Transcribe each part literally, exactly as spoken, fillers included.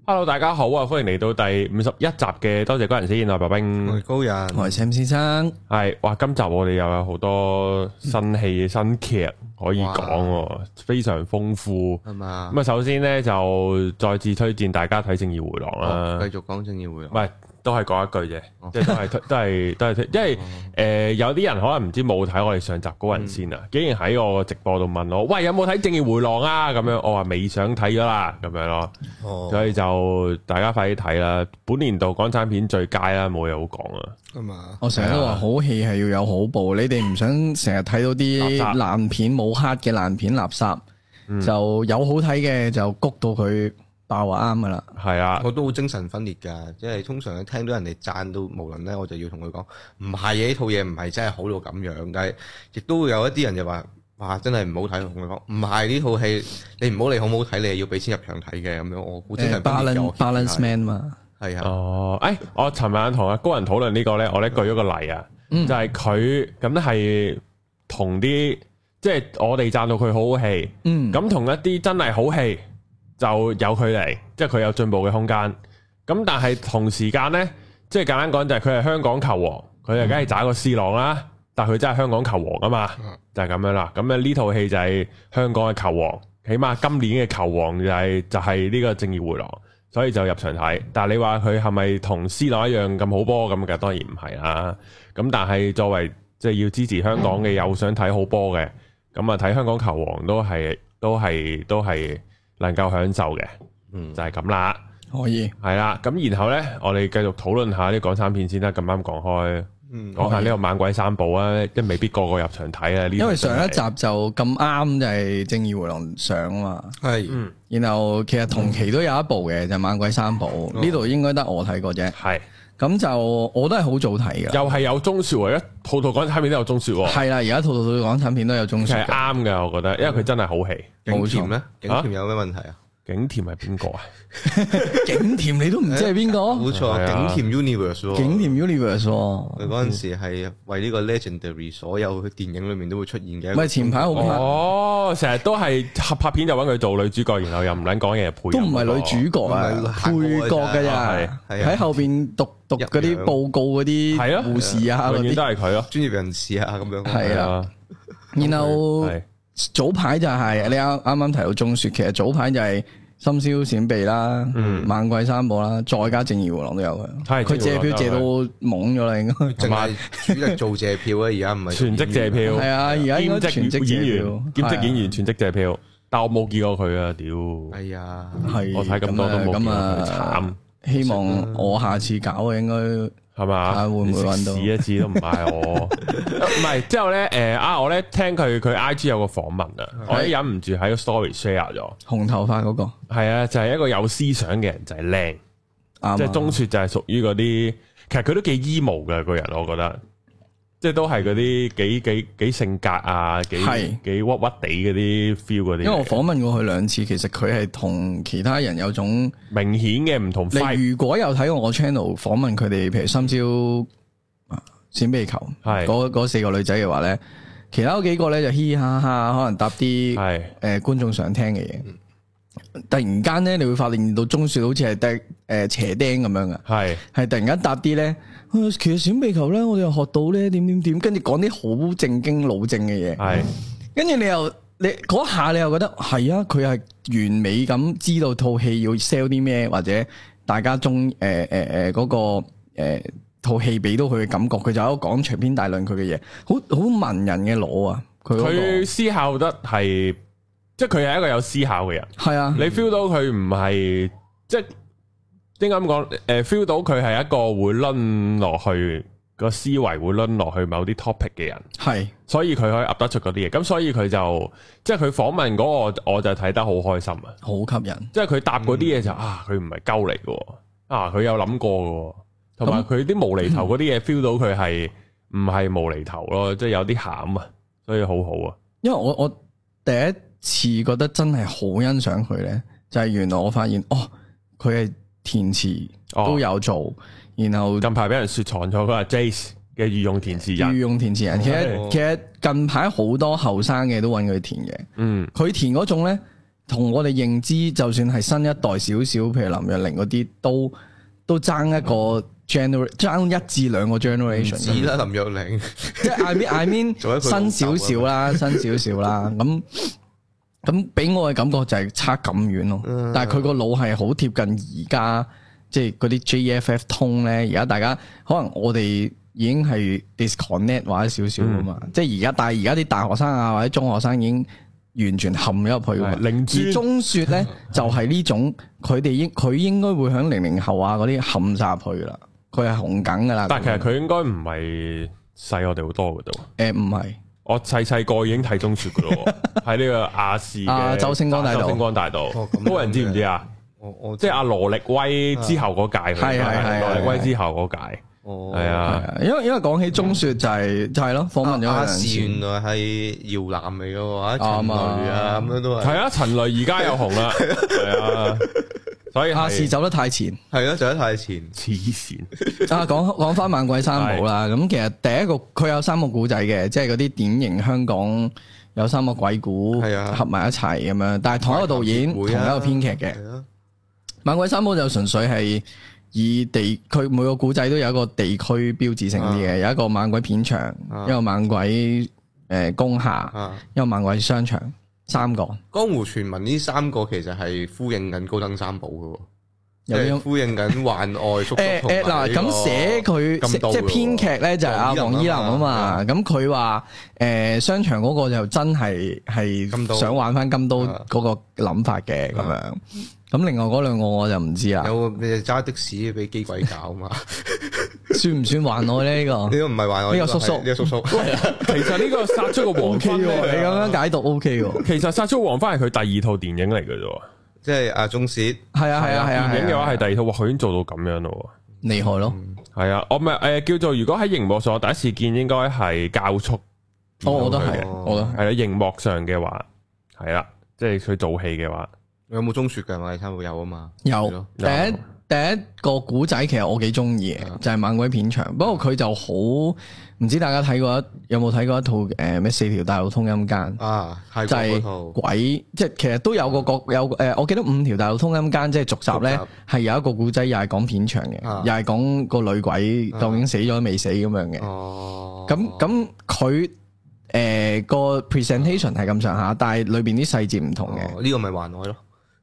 Hello， 大家好啊！歡迎嚟到第五十一集嘅多謝高人先，我係白兵， 我係高人， 我係 Sam 先生。 係哇，今集我哋又有好多新戲、新劇可以講，非常豐富係嘛。咁啊，首先咧就再次推薦大家睇《正義回廊》啦。 繼續講《正義回廊》， 唔係都係講一句啫，即係都係都係都係推，因為誒有啲人可能唔知冇睇我哋上集高人先啊，竟然喺我直播度問我，喂，有冇睇《正義回廊》啊？咁樣我話未想睇咗啦，咁樣咯。所以就大家快啲睇啦！本年度港產片最佳啦，冇嘢好講啊。 咁啊， 我成日都話好戲係要有好報，你哋唔想成日睇到啲爛片冇黑嘅爛片垃圾，嗯、就有好睇嘅就谷到佢爆啊啱噶啦。係啊， 我都好精神分裂噶，即係通常聽到人哋讚到無論咧，我就要同佢講，唔係嘅，呢套嘢唔係真係好到咁樣，但係亦都會有一啲人就話。哇！真係唔好睇，同佢講唔係呢套戲，你唔好理好唔好睇，你係要俾錢入場睇嘅咁樣。我估真係 balance balance man 嘛， 係啊。 哦，誒，我尋晚同阿高人討論呢個咧，我咧舉咗個例啊，就係佢咁係同啲即係我哋讚到佢好好戲，咁同一啲真係好戲就有距離，即係佢有進步嘅空間。咁但係同時間咧，即係簡單講就係佢係香港球王，佢就梗係渣個 C 朗啦。但佢真係香港球王啊嘛，就係咁樣啦。咁咧呢套戲就係香港嘅球王，起碼今年嘅球王就係就係呢個正義回廊，所以就入場睇。但係你話佢係咪同 C 朗一樣咁好波咁嘅？當然唔係啦。咁但係作為即係要支持香港嘅，又想睇好波嘅，咁啊睇香港球王都係都係都係能夠享受嘅，嗯，就係咁啦。 可以係啦。咁然後咧，我哋繼續討論下啲港產片先啦。咁啱講開。講下呢個猛鬼三部啊，即未必個個入場睇啊。 因為上一集就咁啱就係正義回廊上啊嘛。係，嗯。然後其實同期都有一部嘅，就猛鬼三部。呢度應該得我睇過啫。係。咁就我都係好早睇嘅。又係有鐘說喎，一套套港產片都有鐘說喎。係啦，而家套套套港產片都有鐘說。係啱嘅，我覺得，因為佢真係好戲。 景甜咧？景甜有咩問題啊？ 景甜係邊個啊？ 景甜你都唔知係邊個？ 冇錯，景甜 Universe。 景甜 Universe。 佢嗰陣時係為呢個 Legendary 所有電影裏面都會出現嘅。 唔係前排好拍。 哦，成日都係合拍片就揾佢做女主角，然後又唔撚講嘢配。 都唔係女主角啊，配角㗎咋。喺後邊讀讀嗰啲報告嗰啲護士啊， 永遠都係佢咯， 專業人士啊咁樣。 係啊。然後。早排就係、是、你啱啱啱提到鐘說，其實早排就係深宵閃避啦，嗯、猛鬼三部啦，再加正義回廊都有嘅。佢借票借到懵咗啦，應該淨係主力做借票啊，而家唔係全職借票。係啊，而家應該全職演員、 兼職演員全職借票，但我冇見過佢啊！屌， 係啊， 係我睇咁多都冇見過佢，慘。 希望我下次搞啊，應該。 係嘛？ 會唔會揾到？ 試一次都唔係我，唔係之後咧，誒啊！我咧聽佢佢 I G 有個訪問啊，我咧忍唔住喺個 story share 咗。 紅頭髮嗰個係啊，就係一個有思想嘅人，就係靚，即係鐘說就係屬於嗰啲，其實佢都幾 emo 嘅個人，我覺得。即係都係嗰啲幾幾幾性格啊，幾幾屈屈地嗰啲 feel 嗰啲。因為我訪問過佢兩次，其實佢係同其他人有種明顯嘅唔同。你如果有睇過我 channel 訪問佢哋，譬如深宵閃避球，係嗰嗰四個女仔嘅話咧，其他嗰幾個咧就嘻嘻哈哈，可能答啲係誒觀眾想聽嘅嘢。突然間咧，你會發現到鐘說好似係得誒斜釘咁樣嘅，係係突然間答啲咧。其實閃避球咧，我哋又學到咧點點點，跟住講啲好正經老正嘅嘢。係，跟住你又你嗰下你又覺得係啊，佢係完美咁知道套戲要 sell 啲咩，或者大家中誒誒誒嗰個誒套戲俾到佢嘅感覺，佢就喺度講長篇大論佢嘅嘢，好好文人嘅腦啊！佢佢思考得係，即係佢係一個有思考嘅人。係啊，你 feel 到佢唔係即係。應該咁講，誒 feel 到佢係一個會掄落去個思維會掄落去某啲 topic 嘅人，係，所以佢可以噏得出嗰啲嘢。咁所以佢就即係佢訪問嗰個，我就睇得好開心啊， 好吸引。即係佢答嗰啲嘢就啊，佢唔係鳩嚟嘅，啊佢有諗過嘅，同埋佢啲無厘頭嗰啲嘢 feel 到佢係唔係無厘頭咯，即係有啲餡啊，所以好好啊。 因為我我第一次覺得真係好欣賞佢咧，就係原來我發現哦，佢係。填詞都有做，哦、然後近排俾人雪藏咗嗰個 Jace 嘅御用填詞人， 御用填詞人。其實、哦、其實近排好多後生嘅都揾佢填嘅，嗯，佢填嗰種咧， 同我哋認知，就算係新一代少少，譬如林若寧嗰啲，都都爭一個 generation，爭一至兩個 generation。 止啦，林若寧， 即係 I mean I mean 新少少啦，新少少啦。咁咁俾我嘅感覺就係差咁遠咯。嗯、但係佢個腦係好貼近而家，即係嗰啲 J F F 通咧。而家大家可能我哋已經係 disconnect 或者少少啊嘛。嗯、即係而家，但係而家啲大學生啊或者中學生已經完全陷咗入去。而中雪咧就係呢種，佢哋應佢應該會響零零後啊嗰啲陷晒入去啦。佢係紅梗噶啦。但係其實佢應該唔係細我哋好多噶都。誒唔係。我細細個已經睇中雪噶咯，喺呢個亞視嘅周星光大道，周星光大道，多人知唔知啊？我我即係阿羅力威之後嗰屆，係係係羅力威之後嗰屆，係啊。因為因為講起中雪就係就係咯，訪問咗亞視原來係搖籃嚟嘅話，陳雷啊咁樣都係。係啊，陳雷而家又紅啦，係啊。所以亞視走得太前，係咯，走得太前，黐線。啊，講講翻猛鬼三寶啦，咁其實第一個佢有三個古仔嘅，即係嗰啲典型香港有三個鬼故合埋一齊咁樣，但係同一個導演、同一個編劇嘅。猛鬼三寶就純粹係以地，佢每個古仔都有一個地區標誌性啲嘅，有一個猛鬼片場，一個猛鬼誒工廈，一個猛鬼商場。三個江湖傳聞呢三個其實係呼應緊高登三寶嘅，即係呼應緊幻愛叔叔同埋呢個。嗱咁寫佢即係編劇咧就係阿黃依林啊嘛，咁佢話誒商場嗰個就真係係想玩翻金刀嗰個諗法嘅咁樣。咁另外嗰兩個我就唔知啦。有你揸的士俾機鬼搞嘛？算唔算幻愛咧？呢個呢個唔係幻愛，呢個叔叔呢個叔叔。其實呢個殺出個黃昏，你咁樣解讀 O K 喎。其實殺出黃昏係佢第二套電影嚟嘅啫，即係阿鍾薛。係啊係啊係啊。電影嘅話係第二套，哇！佢已經做到咁樣咯，厲害咯。係啊，我咪誒叫做如果喺熒幕上我第一次見應該係教速。哦，我都係，我都係啦。熒幕上嘅話係啦，即係佢做戲嘅話。有冇中雪嘅？我哋差唔多有啊嘛。有第一第一個古仔，其實我幾中意嘅，就係猛鬼片場。不過佢就好唔知大家睇過一有冇睇過一套誒咩四條大路通陰間啊？係就係鬼，即係其實都有個角有誒，我記得五條大路通陰間即係續集咧，係有一個古仔，又係講片場嘅，又係講個女鬼究竟死咗未死咁樣嘅。哦，咁咁佢誒個 presentation 係咁上下，但係裏邊啲細節唔同嘅。呢個咪幻愛咯。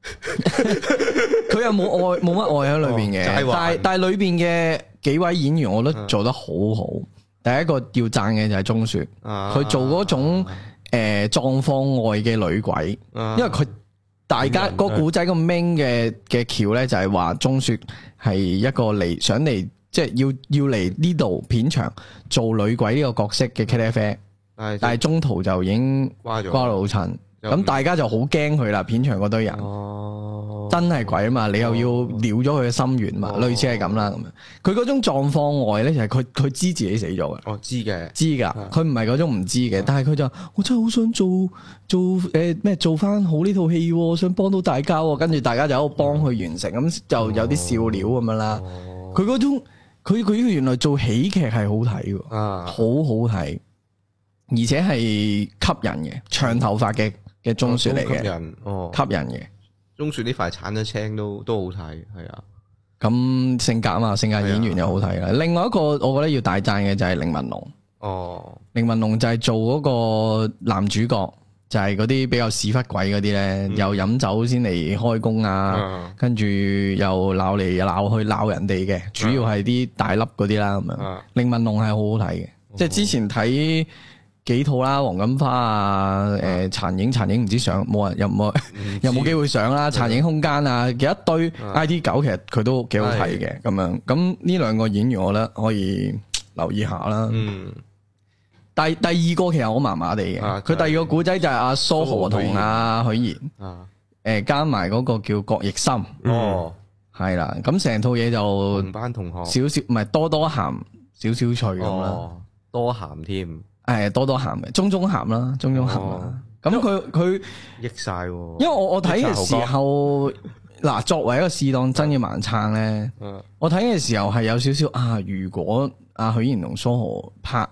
佢又冇愛冇乜愛喺裏邊嘅，但係但係裏邊嘅幾位演員，我覺得做得好好。第一個要讚嘅就係鍾雪，佢做嗰種誒狀況外嘅女鬼，因為佢大家個古仔個 main 嘅嘅橋咧就係話鍾雪係一個嚟想嚟即係要要嚟呢度片場做女鬼呢個角色嘅 K F， 但係中途就已經瓜咗老襯。咁大家就好驚佢啦，片場嗰堆人，哦、真係鬼啊嘛！你又要撩咗佢嘅心願嘛，哦、類似係咁啦咁樣。佢嗰種狀況外咧，就係佢佢知自己死咗嘅。哦，知嘅，知噶。佢唔係嗰種唔知嘅，但係佢就我真係好想做做誒咩、呃、做翻好呢套戲，想幫到大家。跟住大家就喺度幫佢完成，咁、哦、就有啲笑料咁樣啦。佢嗰、哦、種佢佢原來做喜劇係好睇嘅，啊、好好睇，而且係吸引嘅，長頭髮嘅。嘅鍾雪嚟嘅，吸引哦，吸引嘅。鍾雪呢塊鏟咗青都都好睇，係啊。咁性格啊嘛，性格演員又好睇啦。啊、另外一個我覺得要大讚嘅就係凌文龍。哦，凌文龍就係做嗰個男主角，就係嗰啲比較屎忽鬼嗰啲咧，嗯、又飲酒先嚟開工啊，嗯、跟住又鬧嚟又鬧去鬧人哋嘅，主要係啲大粒嗰啲啦咁樣。凌文龍係好好睇嘅，嗯、即係之前睇。幾套啦，黃金花啊，誒，殘影殘影唔知上冇人有冇有冇機會上啦，殘影空間啊，幾一堆 I T 九其實佢都幾好睇嘅咁樣，咁呢兩個演員我覺得可以留意下啦。嗯，第第二個其實我麻麻地嘅，佢第二個古仔就係阿蘇荷同阿許賢，誒加埋嗰個叫郭奕森，哦，係啦，咁成套嘢就同班同學少少唔係多多鹹少少脆咁啦，多鹹添。係多多鹹嘅，中中鹹啦，中中鹹啦。咁佢佢益晒，因為我我睇嘅時候，嗱作為一個試當真嘅盲撐咧，我睇嘅時候係有少少啊。如果阿許賢同蘇荷拍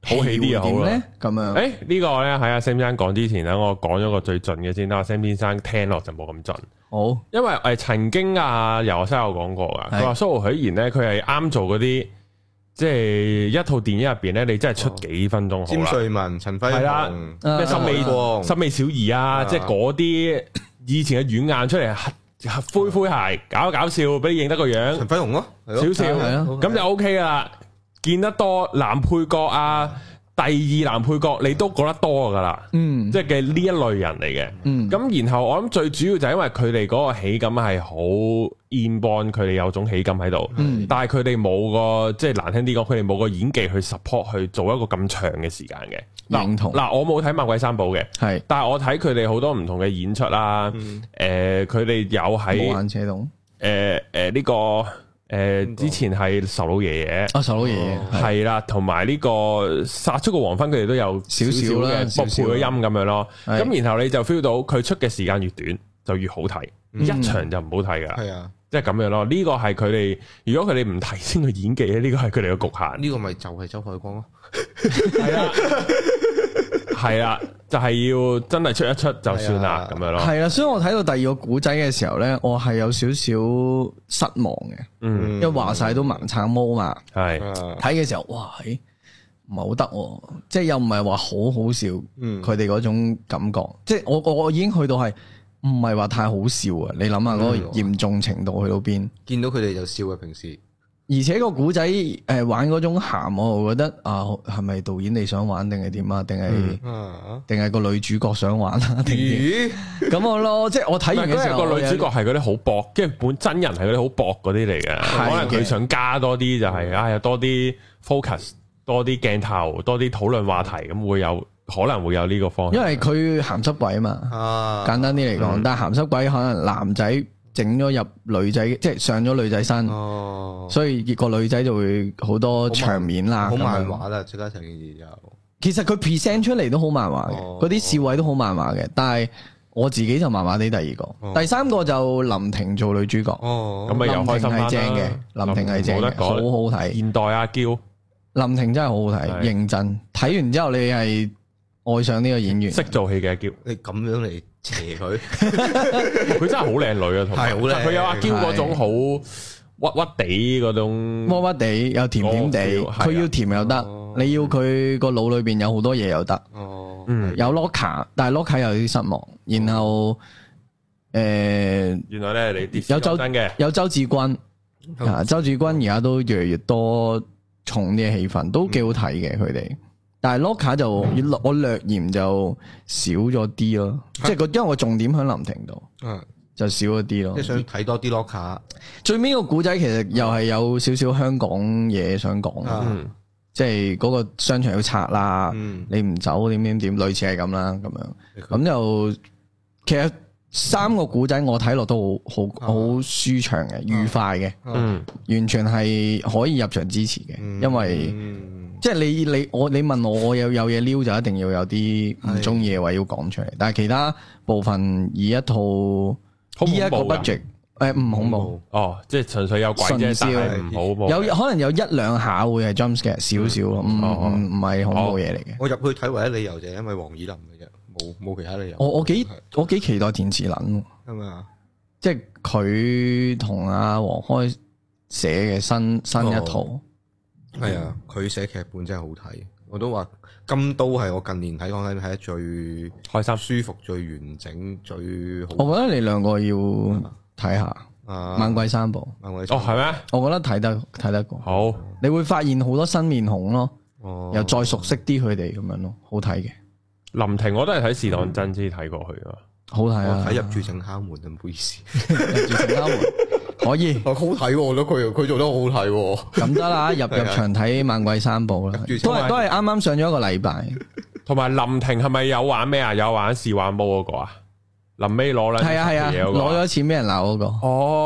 好戲啲又好啦。 咁樣，誒、 欸這個、呢個咧喺阿 Sam 先生講之前咧，我講咗個最盡嘅先啦。阿 Sam 先生聽落就冇咁盡。 好，因為誒曾經啊游西有講過噶，佢話蘇浩許賢咧，佢係啱做嗰啲。即係一套電影入邊咧，你真係出幾分鐘好啦。詹瑞文、陳輝陽，咩森美光、森美小儀啊，即係嗰啲以前嘅軟硬出嚟，灰灰鞋搞搞笑，俾你認得個樣。陳輝陽咯，少少咁就 O K 啦。見得多男配角啊，第二男配角你都覺得多噶啦。嗯，即係嘅呢一類人嚟嘅。嗯，咁然後我諗最主要就係因為佢哋嗰個喜感係好 inborn，佢哋有種喜感喺度。嗯，但係佢哋冇個即係難聽啲講，佢哋冇個演技去 support 去做一個咁長嘅時間嘅。認同。嗱，我冇睇《猛鬼三寶》嘅，係，但係我睇佢哋好多唔同嘅演出啦。誒，佢哋有喺無限車動。 誒誒呢個。誒，之前係仇老爺爺， 啊仇老爺爺係啦，同埋呢個殺出個黃昏，佢哋都有少少嘅播配嘅音咁樣咯。咁然後你就 feel 到佢出嘅時間越短就越好睇，一場就唔好睇噶。係啊，即係咁樣咯。呢個係佢哋，如果佢哋唔提升佢演技咧，呢個係佢哋嘅局限。呢個咪就係周海光咯。係啊。係啦，就係、是、要真係出一出就算啦，咁、啊、樣咯。係啦，所以我睇到第二個古仔嘅時候咧，我係有少少失望嘅。嗯，因為話晒都盲橙毛嘛。係睇嘅時候，哇，唔係好得，即係又唔係話好好笑。嗯，佢哋嗰種感覺，即係我我我已經去到係唔係話太好笑啊？你諗下嗰個嚴重程度去到邊？見到佢哋就笑啊，平時。而且個古仔誒玩嗰種鹹，我覺得啊，係咪導演你想玩定係點啊？定係定係個女主角想玩啊？定點咁我咯，即係我睇完嘅時候， 個女主角係嗰啲好薄，即係本真人係嗰啲好薄嗰啲嚟嘅，可能佢想加多啲就係啊，有多啲 focus，多啲鏡頭，多啲討論話題，咁會有可能會有呢個方向。 因為佢鹹濕鬼啊嘛，簡單啲嚟講，但係鹹濕鬼可能男仔。整咗入女仔，即係上咗女仔身，哦、所以個女仔就會好多場面啦。 好漫畫啦，即刻成件事就。 其實佢 present 出嚟都好漫畫嘅，嗰啲、哦、笑位都好漫畫嘅。但係我自己就麻麻地。第二個，哦、第三個就林婷做女主角。哦，咁咪又開心翻啦。林婷係正嘅，林婷係正嘅，好好睇。現代阿嬌，林婷真係好好睇，是認真睇完之後你係愛上呢個演員， 識做戲嘅阿嬌。 你咁樣嚟。邪佢， 佢真係好靚女啊，同埋佢有阿嬌嗰種好屈屈地嗰種， 屈屈地又甜甜地，佢要甜又得，你要佢個腦裏邊有好多嘢又得，嗯，有 Loka，但係 Loka 有啲失望，然後誒，原來咧你有周嘅，有周志軍啊，周志軍而家都越嚟越多重啲嘅戲份，都幾好睇嘅佢哋。但係 Loka 就我略嫌就少咗啲咯，即係個因為我重點喺林婷度，就少咗啲咯。即係想睇多啲 Loka。最尾個古仔其實又係有少少香港嘢想講，即係嗰個商場要拆啦，你唔走點點點，類似係咁啦咁樣。咁就其實三個古仔我睇落都好好好舒暢嘅，愉快嘅，完全係可以入場支持嘅，因為。即係你你我你問我我有有嘢撩就一定要有啲唔中意嘅話要講出嚟，但係其他部分以一套以一個 budget 誒唔恐怖哦，即係純粹有鬼啫，但係唔恐怖， 有可能有一兩下會係 jump scare 少少咯，唔唔唔係恐怖嘢嚟嘅。 我入去睇唯一理由就係因為黃以林嘅啫，冇冇其他理由。 我我幾我幾期待田詞霖係咪啊？即係佢同阿黃開寫嘅新新一套。 係啊，佢寫劇本真係好睇，我都話金都係我近年睇講緊睇得最開心、舒服、最完整、最好。 我覺得你兩個要睇下《猛鬼三寶》。 哦，係咩？ 我覺得睇得睇得過。 好， 你會發現好多新面孔咯，又再熟悉啲佢哋咁樣咯，好睇嘅。 林婷我都係睇《試當真》先睇過去啊， 好睇啊！ 睇入住正敲門啊，唔好意思， 入住正敲門。可以， 好睇，我覺得佢佢做得好好睇。 咁得啦，入入場睇《猛鬼三寶》啦，都係都係啱啱上咗一個禮拜。 同埋林婷係咪有玩咩啊？有玩試玩毛嗰個啊？臨尾攞啦， 係啊係啊，攞咗錢俾人鬧嗰個。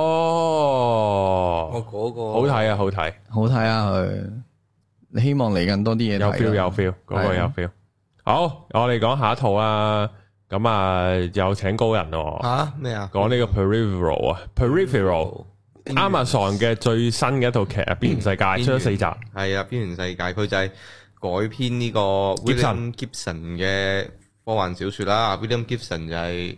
哦， 我嗰個好睇啊，好睇， 好睇啊！佢，你希望嚟緊多啲嘢。 有 feel 有 feel，嗰個有 feel。好，我哋講下一套啊。咁啊，有請高人喎。 吓咩啊？ 講呢個 Peripheral 啊 ，Peripheral，Amazon 嘅最新嘅一套劇啊，邊緣世界出咗四集。 係啊，邊緣世界佢就係改編呢個 William Gibson 嘅科幻小說啦。William Gibson 就係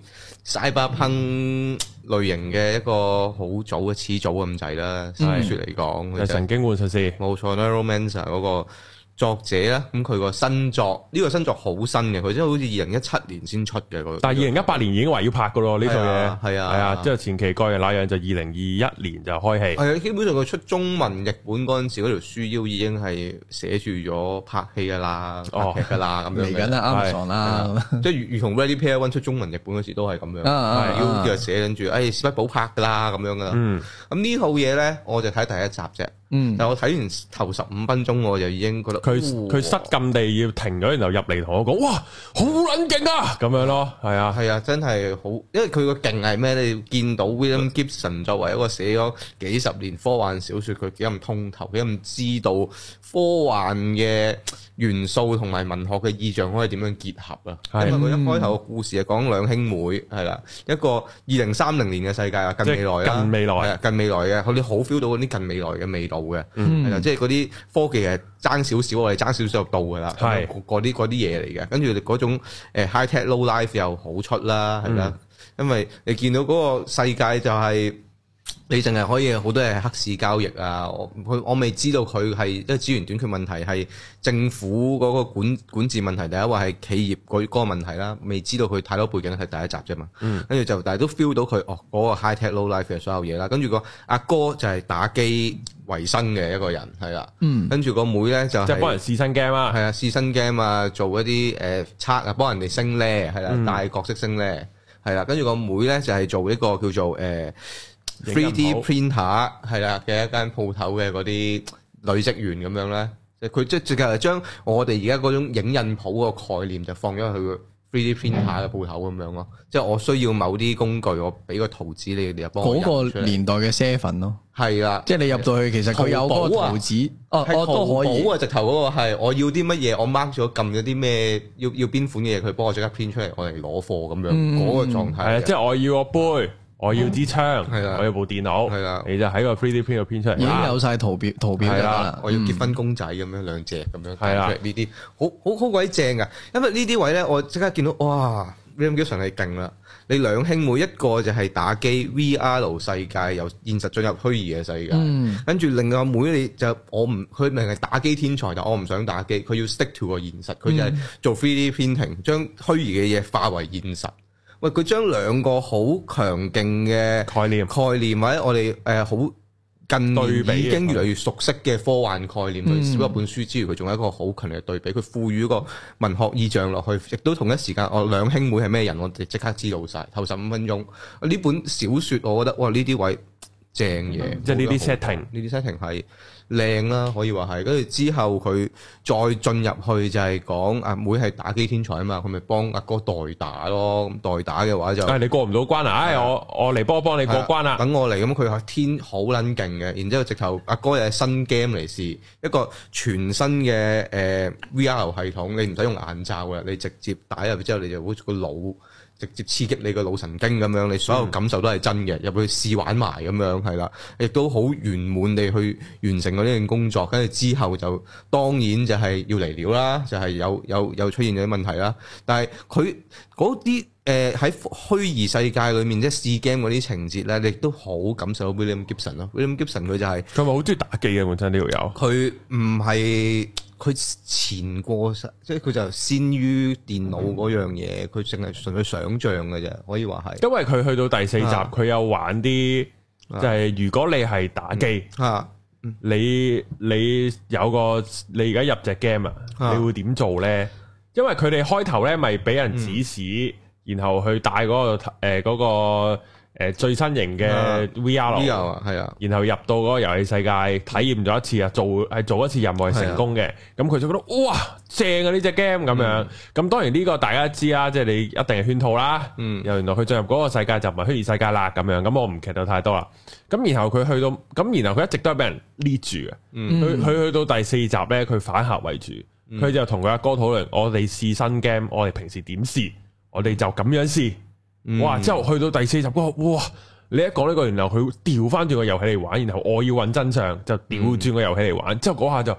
Cyberpunk 類型嘅一個好早嘅始祖咁滯啦，小說嚟講。 係神經換術師， 冇錯 Neuromancer 嗰個作者啦。咁佢個新作呢、這個新作好新嘅，佢真係好似二零一七年先出嘅。佢但係二零一八年已經話要拍噶咯呢套嘢， 係啊， 係啊，即係前期蓋嘅那樣就二零二一年就開戲。 係啊，基本上佢出中文譯本嗰陣時，嗰條書腰已經係寫住咗拍戲噶啦，拍劇噶啦咁樣嚟緊啦，Amazon 啦， 即係如如同 Ready Player One 出中文譯本嗰時都係咁樣，腰就寫緊住，誒史匹堡拍噶啦咁樣噶啦。咁呢套嘢咧，我就睇第一集啫。嗯，但係我睇完頭十五分鐘，我就已經覺得佢佢失禁地要停咗，然後入嚟同我講，哇，好撚勁啊！咁樣咯，係啊， 係啊，真係好，因為佢個勁係咩？你見到 William Gibson 作為一個寫咗幾十年科幻小說，佢幾咁通透，幾咁知道科幻嘅元素同埋文學嘅意象可以點樣結合啊？因為佢一開頭個故事係講兩兄妹，係啦，一個二零三零年嘅世界啊，近未來啊， 近未來係啊，近未來嘅，佢哋好 feel 到嗰啲近未來嘅味道嘅，係啦，即係嗰啲科技係爭少少，我哋爭少少就到噶啦，係嗰啲嗰啲嘢嚟嘅，跟住嗰種誒 high tech low life 又好出啦，係啦，因為你見到嗰個世界就係。你淨係可以好多係黑市交易啊！我佢我未知道佢係因為資源短缺問題，係政府嗰個管管治問題，第一話係企業嗰嗰個問題啦。未知道佢太多背景係第一集啫嘛。嗯。跟住就但係都 feel 到佢哦嗰個 high tech low life 嘅所有嘢啦。跟住個阿哥就係打機為生嘅一個人係啦。嗯。跟住個妹咧就係即係幫人試新 game 啊。係啊，試新 game 啊，做一啲誒測啊，幫人哋升咧係啦，帶角色升咧係啦。跟住個妹咧就係做一個叫做誒。three D printer 係啦嘅一間鋪頭嘅嗰啲女職員咁樣咧，即係佢即係直頭係將我哋而家嗰種影印鋪個概念就放咗去個 three D printer 嘅鋪頭咁樣咯。即係我需要某啲工具，我俾個圖紙你哋就幫我印出嚟。嗰個年代嘅 seven 咯，係啦，即係你入到去其實佢有嗰個圖紙，哦哦都可以。啊，直頭嗰個係我要啲乜嘢，我 mark 咗撳咗啲咩，要要邊款嘅嘢，佢幫我即刻 print 出嚟，我嚟攞貨咁樣嗰個狀態。係啊，即係我要個杯。我要支槍，嗯、我要部電腦，的你就喺個 three D print 度編出嚟，已經有晒圖表圖表啦。我要結婚公仔咁樣兩隻咁樣，係啦呢啲好好好鬼正噶。因為呢啲位咧，我即刻見到哇 William Gibson 係勁啦！你兩兄妹一個就係打機 V R 世界，由現實進入虛擬嘅世界，跟住、嗯、另外妹你就我唔佢明係打機天才，但我唔想打機，佢要 stick to 個現實，佢就係做 three D printing，將虛擬嘅嘢化為現實。喂，佢將兩個好強勁嘅概念概念，或者我哋誒好近年已經越嚟越熟悉嘅科幻概念去寫一本書之餘，佢仲有一個好強烈嘅對比，佢賦予一個文學意象落去，亦都同一時間，我兩兄妹係咩人，我哋即刻知道晒。頭十五分鐘，呢本小説我覺得哇，呢啲位正嘢，嗯、即係呢啲 setting，呢啲 setting 係。靚啦，可以話係，跟住之後佢再進入去就係講阿妹係打機天才啊嘛，佢咪幫阿哥代打咯，咁代打嘅話就，誒你過唔到關啊，唉我我嚟幫幫你過關啦，等我嚟，咁佢係天好撚勁嘅，然之後直頭阿哥又係新 game 嚟試，一個全新嘅誒 V R 系統，你唔使用眼罩嘅，你直接打入去之後，你就好似個腦。直接刺激你個腦神經咁樣，你所有感受都係真嘅，入去試玩埋咁樣，係啦，亦都好圓滿地去完成咗呢件工作。跟住之後就當然就係要嚟料啦，就係、是、有有有出現咗啲問題啦。但係佢嗰啲誒喺虛擬世界裏面即係試 game 嗰啲情節咧，你亦都好感受到 William Gibson 咯。William Gibson 佢就係佢咪好中意打機嘅本身呢條友。佢唔係。佢前過實，即係佢就先於電腦嗰樣嘢，佢淨係純粹想像嘅啫，可以話係。因為佢去到第四集，佢、啊、有玩啲，就係、是、如果你係打機，啊嗯、你你有個你而家入隻 game 啊，你會點做咧？因為佢哋開頭咧咪俾人指使，嗯、然後去帶嗰、那個誒嗰、呃那個。誒，最新型嘅 V R 係啊，然後入到嗰個遊戲世界體驗咗一次啊，做係做一次任務係成功嘅，咁佢就覺得哇正啊呢隻 game 咁樣，咁當然呢個大家知啦，即係你一定係圈套啦，嗯，又原來佢進入嗰個世界就唔係虛擬世界啦，咁樣，咁我唔劇透太多啦，咁然後佢去到，咁然後佢一直都係俾人 lead 住嘅，佢佢去到第四集咧，佢反客為主，佢就同佢阿哥討論，我哋試新 game，我哋平時點試，我哋就咁樣試。哇！之後去到第四集嗰個，哇！你一講呢個，然後佢調翻轉個遊戲嚟玩，然後我要揾真相，就調轉個遊戲嚟玩。之後嗰下就好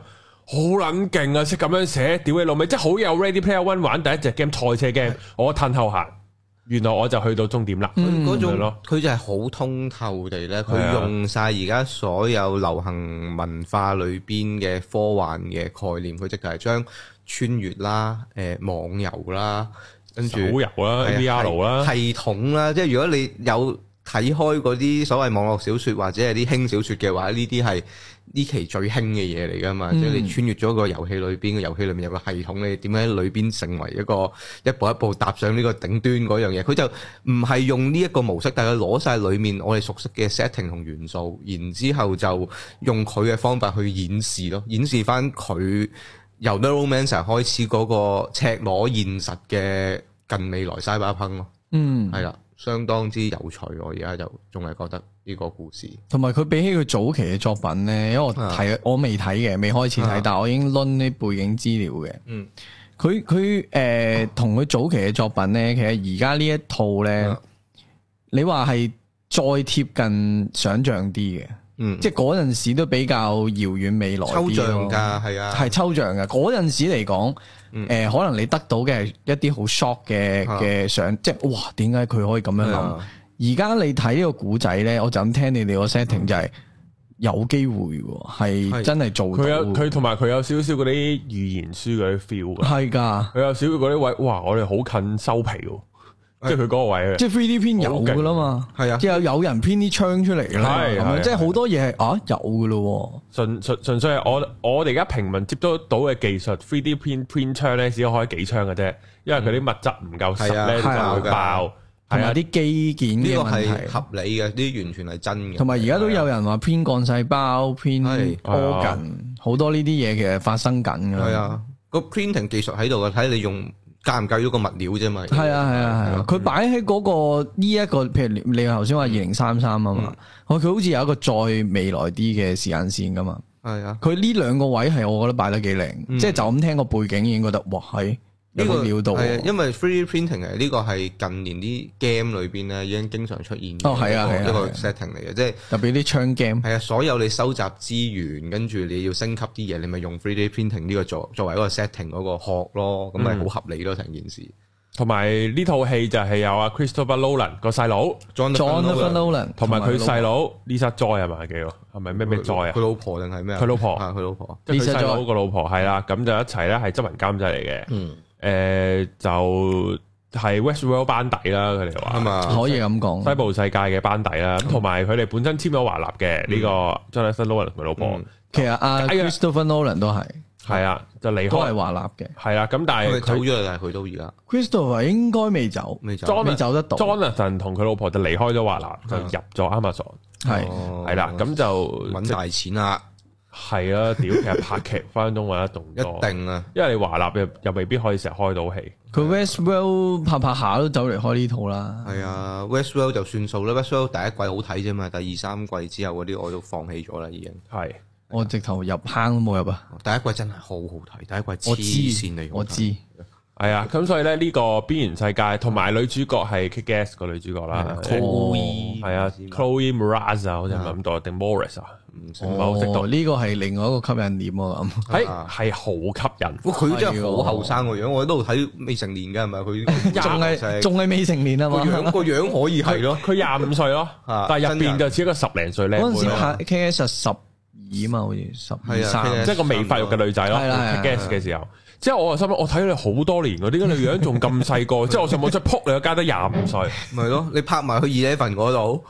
好撚勁啊！識咁樣寫，屌你老味，即係好有 Ready Player One 玩第一隻 game 賽車 game，我褪後行，原來我就去到終點啦。 佢嗰種佢就係好通透地咧，佢用晒而家所有流行文化裏邊嘅科幻嘅概念，佢即係將穿越啦、誒網遊啦、跟住手遊啦、V R 啦、 系統啦，即係如果你有睇開嗰啲所謂網絡小說或者係啲輕小說嘅話，呢啲係呢期最興嘅嘢嚟噶嘛？嗯、即係你穿越咗個遊戲裏邊，個遊戲裏面有個系統，你點樣喺裏邊成為一個一步一步踏上呢個頂端嗰樣嘢？佢就唔係用呢一個模式，但係攞晒裏面我哋熟悉嘅 setting 同元素，然之後就用佢嘅方法去演示咯，演示翻佢由 Neuromancer 開始嗰個赤裸現實嘅近未來 Cyberpunk 咯。嗯，係啦。相當之有趣，我而家就仲係覺得呢個故事， 同埋佢比起佢早期嘅作品咧，因為我睇、啊、我未睇嘅，未開始睇，啊、但係我已經攆啲背景資料嘅。嗯，佢佢誒同佢早期嘅作品咧，其實而家呢一套咧，啊、你話係再貼近想像啲嘅，嗯，即係嗰陣時都比較遙遠未來啲咯，抽象㗎，係啊，係抽象㗎。嗰陣時嚟講。誒、嗯呃，可能你得到嘅係一啲好 shock 嘅嘅想，啊、即係哇，點解佢可以咁樣諗？而家、啊、你睇呢個古仔咧，我就咁聽你哋個 setting 就係有機會係真係做到。佢有佢同埋佢有少少嗰啲預言書嗰啲 feel 嘅， 係㗎。 佢有少少嗰啲位，哇！我哋好近收皮喎。即係佢嗰個位， 即係 three D print 有噶啦嘛，係啊，即係有人 print 啲槍出嚟啦，係咪？即係好多嘢係啊有噶咯，純純純粹係我我哋而家平民接觸到嘅技術 three D print print 槍咧，只可以開幾槍嘅啫，因為佢啲物質唔夠實咧就會爆， 同埋啲基建嘅問題， 呢個係合理嘅，呢完全係真嘅。 同埋而家都有人話 print 幹細胞 print organ，好多呢啲嘢其實發生緊噶。 係啊，個 printing 技術喺度嘅，睇你用。介唔介意嗰個物料啫嘛？ 係啊係啊係啊！佢擺喺嗰個呢一個，譬如你頭先話二零三三啊嘛，佢佢、嗯、好似有一個再未來啲嘅時間線噶嘛。係啊，佢呢兩個位係我覺得擺得幾靚，嗯、即係就咁聽個背景已經覺得哇係。呢個料到，係啊，因為 three D printing 係呢個係近年啲 game 裏邊咧已經經常出現哦，係啊，係一個 setting 嚟嘅，即係特別啲槍 game 係啊，所有你收集資源，跟住你要升級啲嘢，你咪用 three D printing 呢個作作為一個 setting 嗰個殼咯，咁咪好合理咯成件事。 同埋呢套戲就係有阿 Christopher Nolan 個細佬 Jonathan Nolan， 同埋佢細佬 Lisa Joy 係咪記喎？係咪咩咩 Joy 啊？ 佢老婆定係咩啊？ 佢老婆啊，佢老婆， 即係佢細佬個老婆係啦，咁就一齊咧係執行監製嚟嘅。嗯。誒、呃，就係 Westworld 班底啦，佢哋話可以咁講， 西部世界嘅班底啦，咁同埋佢哋本身簽咗華納嘅呢個 Jonathan Nolan 佢老婆，嗯、 其實阿 Christopher Nolan 都係係啊，就離開都係華納嘅，係啊，咁但係佢走咗，但係佢都而家 Christopher 應該未走，未走，未 Jonathan, 走得到。 Jonathan 同佢老婆就離開咗華納，就入咗 Amazon，係係啦，咁就搵大錢啦。 係啊，屌！其實拍劇分分鐘揾得動多， 一定啊！ 因為你華納又又未必可以成日開到戲。 佢 Westworld 拍拍下都走嚟開呢套啦。 係啊 ，Westworld 就算數啦。Westworld 第一季好睇啫嘛，第二三季之後嗰啲我都放棄咗啦，已經。係， 我直頭入坑都冇入啊！ 第一季真係好好睇，第一季黐線嚟， 我知。 係啊，咁所以咧呢個邊緣世界同埋女主角係 Kick-Ass 個女主角啦，Chloe 係啊 ，Chloe Moretz 啊，好似唔係咁多定 Morris 啊，唔係好識讀。呢個係另外一個吸引點啊，咁係係好吸引。 佢真係好後生個樣，我喺度睇未成年㗎係咪？佢仲係仲係未成年啊嘛， 個樣個樣可以係咯， 佢廿五歲咯，但係入邊就似一個十零歲靚妹。 嗰陣時拍 Kick-Ass 十二嘛，好似十二三， 即係個未發育嘅女仔咯。Kick-Ass 嘅時候。即係我心諗，我睇咗你好多年，點解你樣仲咁細個？即係我上網出撲你個街得廿五歲， 咪咯？你拍埋去 Eleven 嗰度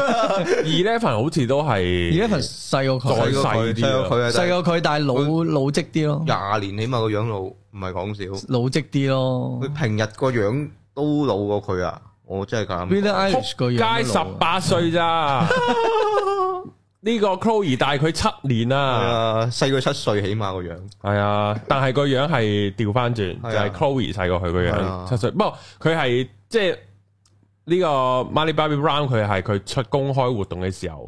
，Eleven 好似都係 Eleven 細過佢， 再細啲， 細過佢，但係老老積啲咯。 廿年起碼個樣老，唔係講笑， 老積啲咯。 佢平日個樣都老過佢啊！我真係咁。 Billie Eilish 個樣街十八歲咋？呢個 Chloe 大佢七年啊， 細佢七歲起碼個樣， 係啊，但係個樣係調翻轉，就係 Chloe 細過佢個樣七歲。不過佢係即係呢個 Millie Bobby Brown，佢係佢出公開活動嘅時候，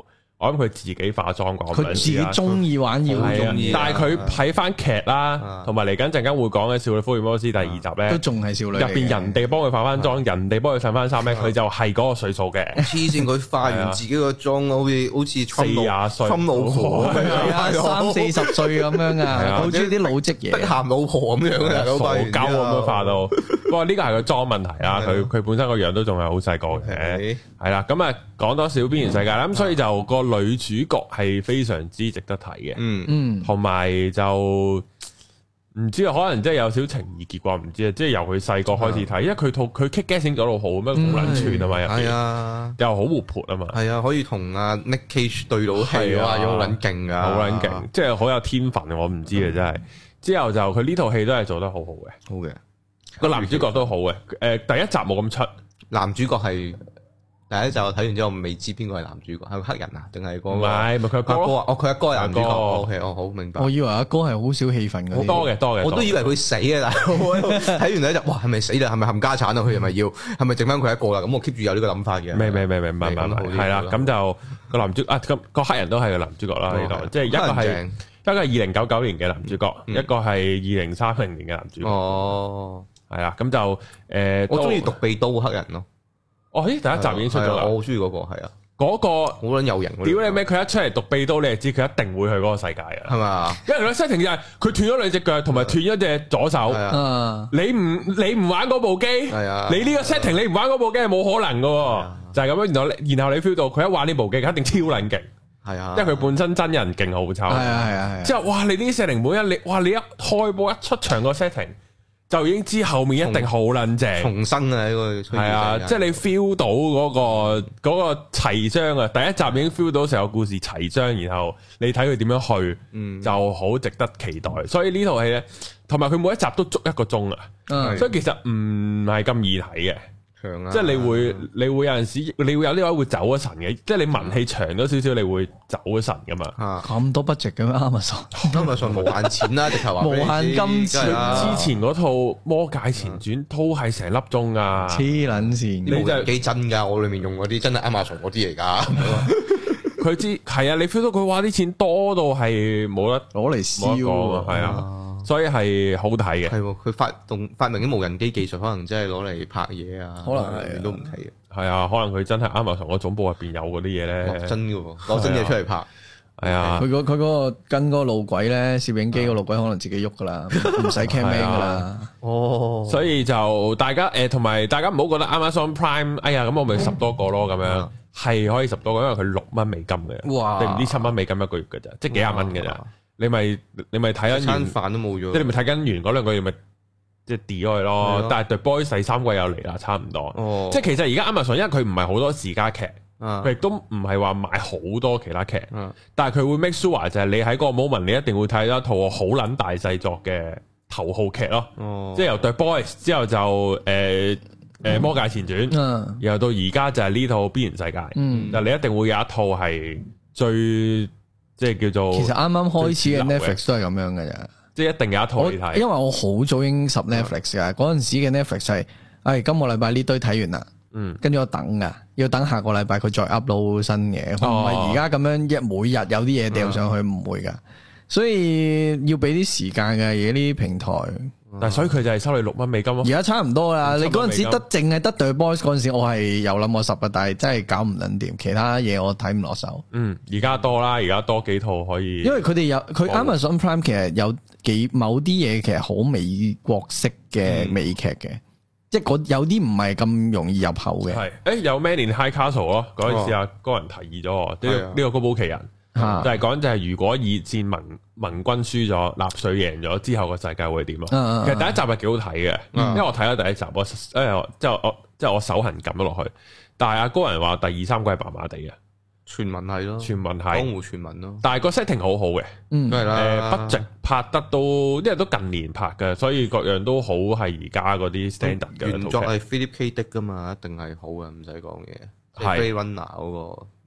我諗佢自己化妝啩， 佢自己中意玩要中意， 但係佢睇翻劇啦，同埋嚟緊陣間會講嘅《少女福爾摩斯》第二集咧， 都仲係少女入邊人哋幫佢化翻妝，人哋幫佢襯翻衫咧，佢就係嗰個歲數嘅。 黐線，佢化完自己個妝，好似好似四廿歲， 侵老婆三四十歲咁樣啊，好中意啲老積嘢， 逼鹹老婆咁樣嘅， 傻鳩咁樣化到。不過呢個係個妝問題啦，佢佢本身個樣都仲係好細個嘅，係啦。咁啊講多少邊緣世界啦，咁所以就個女主角係非常之值得睇嘅，嗯嗯，同埋就唔知啊，可能即係有少情意結啩，唔知啊，即係由佢細個開始睇，因為佢套佢 kick guessing 咗到好咩好撚串啊嘛，入邊係啊，又好活潑啊嘛，係啊，可以同阿 Nick Cage 對到戲啊，好撚勁啊，好撚勁，即係好有天分，我唔知啊，真係。之後就佢呢套戲都係做得好好嘅，好嘅，個男主角都好嘅，誒，第一集冇咁出，男主角係。第一集我睇完之後未知邊個係男主角，係個黑人啊，定係嗰個？唔係，咪佢阿哥啊？哦，佢阿哥係男主角。O K，我好明白。我以為阿哥係好少戲份嘅。好多嘅，多嘅。我都以為佢死嘅，但係睇完第一集，哇，係咪死啦？係咪冚家產啊？佢係咪要？係咪剩翻佢一個啦？咁我 keep 住有呢個諗法嘅。未未未未，唔係唔係，係啦。咁就個男主啊，咁個黑人都係個男主角啦呢度，即係一個係一個係二零九九年嘅男主角，一個係二零三零年嘅男主角。哦，係啦，咁就誒，我中意獨臂刀黑人咯。哦，咦！第一集已經出咗啦，我好中意嗰個，係啊，嗰個好撚有型。屌你咩？佢一出嚟獨臂刀，你就知佢一定會去嗰個世界啊，係嘛？因為佢 setting 就係佢斷咗兩隻腳，同埋斷咗隻左手。你唔你唔玩嗰部機，係啊，你呢個 setting 你唔玩嗰部機係冇可能噶，就係咁樣。然後然後你 feel 到佢一玩呢部機，佢一定超撚勁，係啊，因為佢本身真人勁好抽，係啊係啊。之後哇，你呢啲 setting 每一你哇，你一開波一出場個 setting。就已經知後面一定好撚正，重生啊！呢個係啊，即係你 feel 到嗰個嗰個齊章啊！第一集已經 feel 到成個故事齊章，然後你睇佢點樣去，嗯，就好值得期待。所以呢套戲咧，同埋佢每一集都足一個鐘啊，所以其實唔係咁易睇嘅。即係你會你會有陣時你會有呢位會走咗神嘅，即係你文戲長咗少少，你會走咗神噶嘛？咁多 budget 嘅咩？Amazon，Amazon 無限錢啦，直頭話無限金錢。之前嗰套《魔界前傳》都係成粒鐘噶，黐撚線。你真係幾真噶？我裏面用嗰啲真係 Amazon 嗰啲嚟噶。佢知係啊，你 feel 到佢話啲錢多到係冇得攞嚟燒啊，係啊。所以係好睇嘅，係佢發動發明啲無人機技術，可能真係攞嚟拍嘢啊，可能係都唔睇嘅。係啊，可能佢真係啱啱從個總部入邊有嗰啲嘢咧，真嘅喎，攞真嘢出嚟拍。係啊，佢佢嗰個跟嗰個路軌咧，攝影機個路軌可能自己喐噶啦，唔使 camera 噶啦。哦，所以就大家誒，同埋大家唔好覺得 Amazon Prime，哎呀，咁我咪十多個咯，咁樣係可以十多個，因為佢六蚊美金嘅，哇，定唔知七蚊美金一個月嘅咋，即係幾廿蚊嘅咋。你咪你咪睇緊餐飯都冇咗，即係你咪睇緊完嗰兩個月咪即係跌咗去咯。的但係 The Boys 第三季又嚟啦，差唔多。哦、即係其實而家 Amazon 因為佢唔係好多時加劇，佢亦都唔係話買好多其他劇，啊、但係佢會 make sure 就係你喺嗰個 moment 你一定會睇到一套好撚大製作嘅頭號劇咯。哦、即係由 The Boys 之後就誒誒、呃、魔界前傳，嗯、然後到而家就係呢套邊緣世界。嗯，但係你一定會有一套係最。即係叫做，其實啱啱開始嘅 Netflix 都係咁樣嘅啫，即係一定有一套你睇。因為我好早已經十 Netflix 噶，嗰陣時嘅 Netflix 係，哎，今個禮拜呢堆睇完啦，嗯，跟住我等噶，要等下個禮拜佢再 upload 新嘅，唔係而家咁樣一每日有啲嘢掉上去，唔會噶，所以要俾啲時間嘅嘢呢啲平台。但係所以佢就係收你六蚊美金咯。而家差唔多啦，你嗰陣時得淨係得 The Boys 嗰陣時，我係有諗過十嘅，但係真係搞唔撚掂，其他嘢我睇唔落手。嗯，而家多啦，而家多幾套可以。因為佢哋有佢 Amazon Prime 其實有幾某啲嘢其實好美國式嘅美劇嘅，嗯、即係有啲唔係咁容易入口嘅。係，誒有 Man in High Castle 咯，嗰陣時阿高人提議咗我，呢個呢個高保奇人。啊、就係講就係如果二戰盟盟軍輸咗，納粹贏咗之後個世界會點咯？啊、其實第一集係幾好睇嘅，啊、因為我睇咗第一集，我誒即係我即係我手痕撳咗落去，但係阿高人話第二三季係麻麻地嘅，傳聞係咯，傳聞係江湖傳聞咯，但係個 setting 好好嘅，嗯，係啦，誒，budget拍得都，因為都近年拍嘅，所以各樣都好係而家嗰啲 standard 嘅。原作係 Philip K. Dick 噶嘛，一定係好嘅，唔使講嘢。係 Blade Runner 嗰個。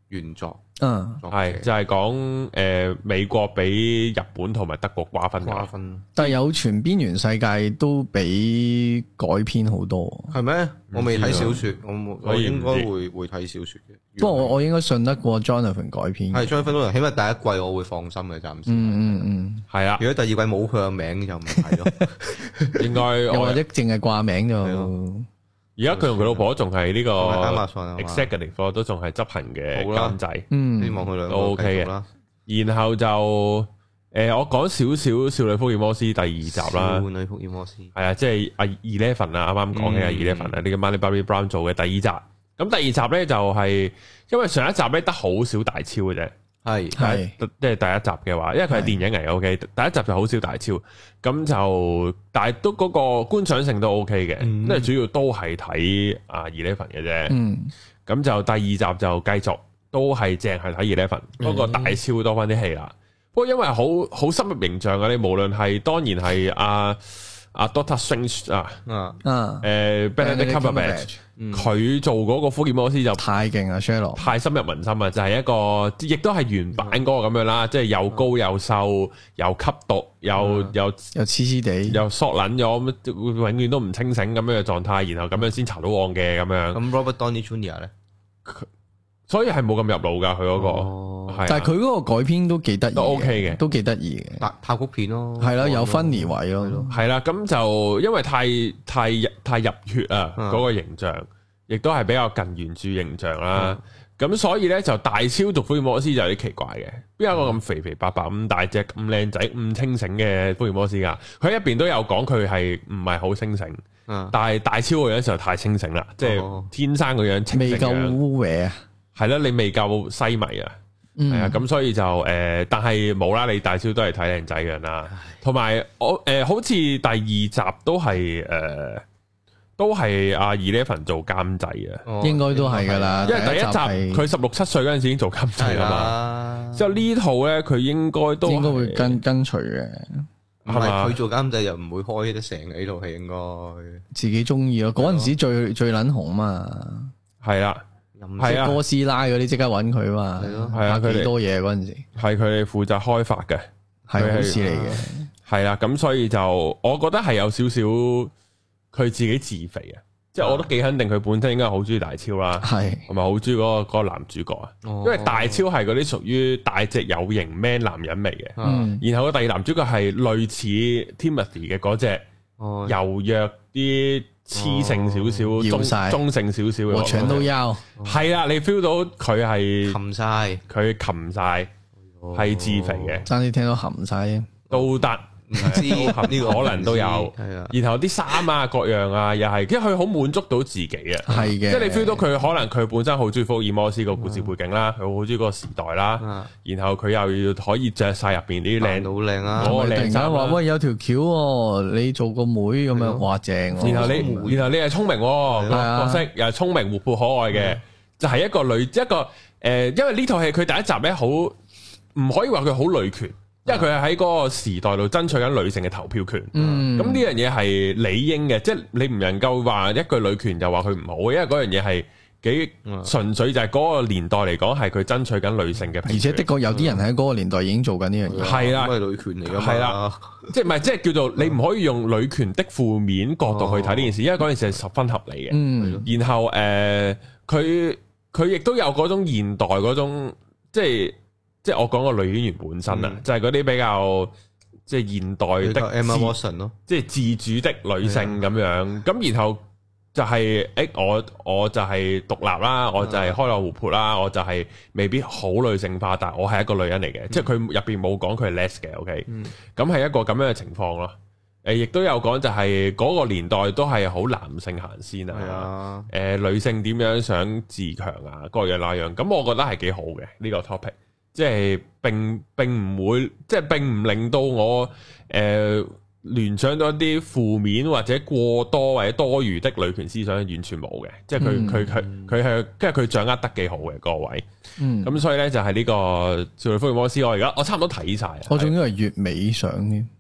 原作。 嗯， 係就係講誒美國俾日本同埋德國瓜分瓜分，但係有傳邊緣世界都俾改編好多， 係咩？我未睇小說，我我應該會會睇小說嘅。 不過我我應該信得過 Jonathan 改編， 係 Jonathan，起碼第一季我會放心嘅，暫時。 嗯嗯嗯， 係啊。 如果第二季冇佢個名就唔係咯，應該又或者淨係掛名就。 而家佢同佢老婆仲係呢個 executive 都仲係執行嘅監製， 嗯， 希望佢兩個都 OK 嘅。然後就誒，我講少少少女福爾摩斯第二集啦。 少女福爾摩斯係啊，即係阿 Eleven 啊，啱啱講起阿 Eleven 啊，呢個 Millie Bobby Brown 做嘅第二集。咁第二集咧就係因為上一集咧得好少大超嘅啫。 係係，即係第一集嘅話，因為佢係電影嚟嘅 ，OK。第一集就好少大超，咁就但係都嗰個觀賞性都 OK 嘅，因為主要都係睇啊 Eleven 嘅啫。嗯，咁就第二集就繼續都係淨係睇 Eleven，不過大超多翻啲戲啦。不過因為好好深入形象啊，你無論係當然係阿阿 Doctor Strange 啊，啊誒 Benedict Cumberbatch。佢做嗰個福爾摩斯就太勁啊 Sherlock 太深入民心啊！就係一個，亦都係原版嗰個咁樣啦，即係又高又瘦，又吸毒，又又又黐黐地， 又索撚咗，永遠都唔清醒咁樣嘅狀態，然後咁樣先查到案嘅咁樣。 咁 Robert Downey Junior 咧， 所以係冇咁入腦噶佢嗰個， 但係佢嗰個改編都幾得意，都 OK 嘅， 都幾得意嘅， 拍曲片咯， 係啦，有funny位咯， 係啦，咁就因為太太太入血啊，嗰個形象。亦都係比較近原著形象啦，咁、嗯、所以咧就大超做福爾摩斯就有啲奇怪嘅，邊有一個咁肥肥白白咁大隻咁靚仔咁清醒嘅福爾摩斯噶？佢入邊都有講佢係唔係好清醒，嗯、但係大超個樣就太清醒啦，即係、哦、天生個樣清醒，未夠污穢啊， 係啦，你未夠西迷啊，係啊、嗯，咁所以就誒、呃，但係冇啦，你大超都係睇靚仔嘅啦，同埋我誒，好似第二集都係誒。呃都係阿 Eleven 做監製啊， 應該都係噶啦， 因為第一集佢十六七歲嗰陣時已經做監製啦嘛。之後呢套咧，佢應該都應該會跟跟隨嘅， 係咪？佢做監製又唔會開得成嘅呢套戲，應該自己中意咯。嗰陣時最最撚紅嘛， 係啦， 係啊，哥斯拉嗰啲即刻揾佢嘛，係咯，係啊，佢哋多嘢嗰陣時， 係佢哋負責開發嘅， 係好事嚟嘅， 係啦。咁所以就我覺得係有少少。佢自己自肥啊，即係我都幾肯定佢本身應該好中意大超啦，係同埋好中意嗰個嗰個男主角啊，因為大超係嗰啲屬於大隻有型 man 男人味嘅，嗯，然後個第二男主角係類似 Timothy 嘅嗰隻柔弱啲、雌性少少、中中性少少嘅， 我全都有， 係啊，你 feel 到佢係擒晒， 佢擒晒，係自肥嘅， 爭啲聽到擒晒都得。唔知呢個可能都有， 係啊。 然後啲衫啊各樣啊，又係，因為佢好滿足到自己啊。 係嘅， 即係你 feel 到佢可能佢本身好中意福爾摩斯個故事背景啦，佢好中意嗰個時代啦。然後佢又要可以着晒入邊啲靚好靚啊， 嗰個靚衫。 話喂有條橋，你做個妹咁樣，哇正。然後你然後你係聰明個角色，又係聰明活潑可愛嘅，就係一個女一個誒，因為呢套戲佢第一集咧好唔可以話佢好女權。因為佢係喺嗰個時代度爭取緊女性嘅投票權，咁呢樣嘢係理應嘅，即係你唔能夠話一句女權就話佢唔好，因為嗰樣嘢係幾純粹就係嗰個年代嚟講係佢爭取緊女性嘅， 而且的確有啲人喺嗰個年代已經做緊呢樣嘢， 係啦， 係女權嚟噶嘛， 係啦，即係唔係即係叫做你唔可以用女權的負面角度去睇呢件事，因為嗰件事係十分合理嘅，然後誒佢佢亦都有嗰種現代嗰種即係。即係我講個女演員本身啊，嗯、就係嗰啲比較即係現代的 Emma Watson 咯， 即係自主的女性咁樣。咁的然後就係、是、誒我我就係獨立啦，我就係開朗活潑啦，我就係未必好女性化，但係我係一個女人嚟嘅。嗯、即係佢入邊冇講佢係 less 嘅，OK。咁係、嗯、一個咁樣嘅情況咯。誒，亦都有講就係嗰個年代都係好男性行先啊。誒的、呃，女性點樣想自強啊，各樣那樣。咁我覺得係幾好嘅呢、這個 topic。即係並並唔會，即係並唔令到我誒、呃、聯想到一啲負面或者過多或者多餘的女權思想，完全冇嘅。即係佢佢佢佢係，即係佢掌握得幾好嘅各位。嗯，咁所以咧就係呢個少女福爾摩斯，我而家我差唔多睇晒。 我仲以為月尾上添，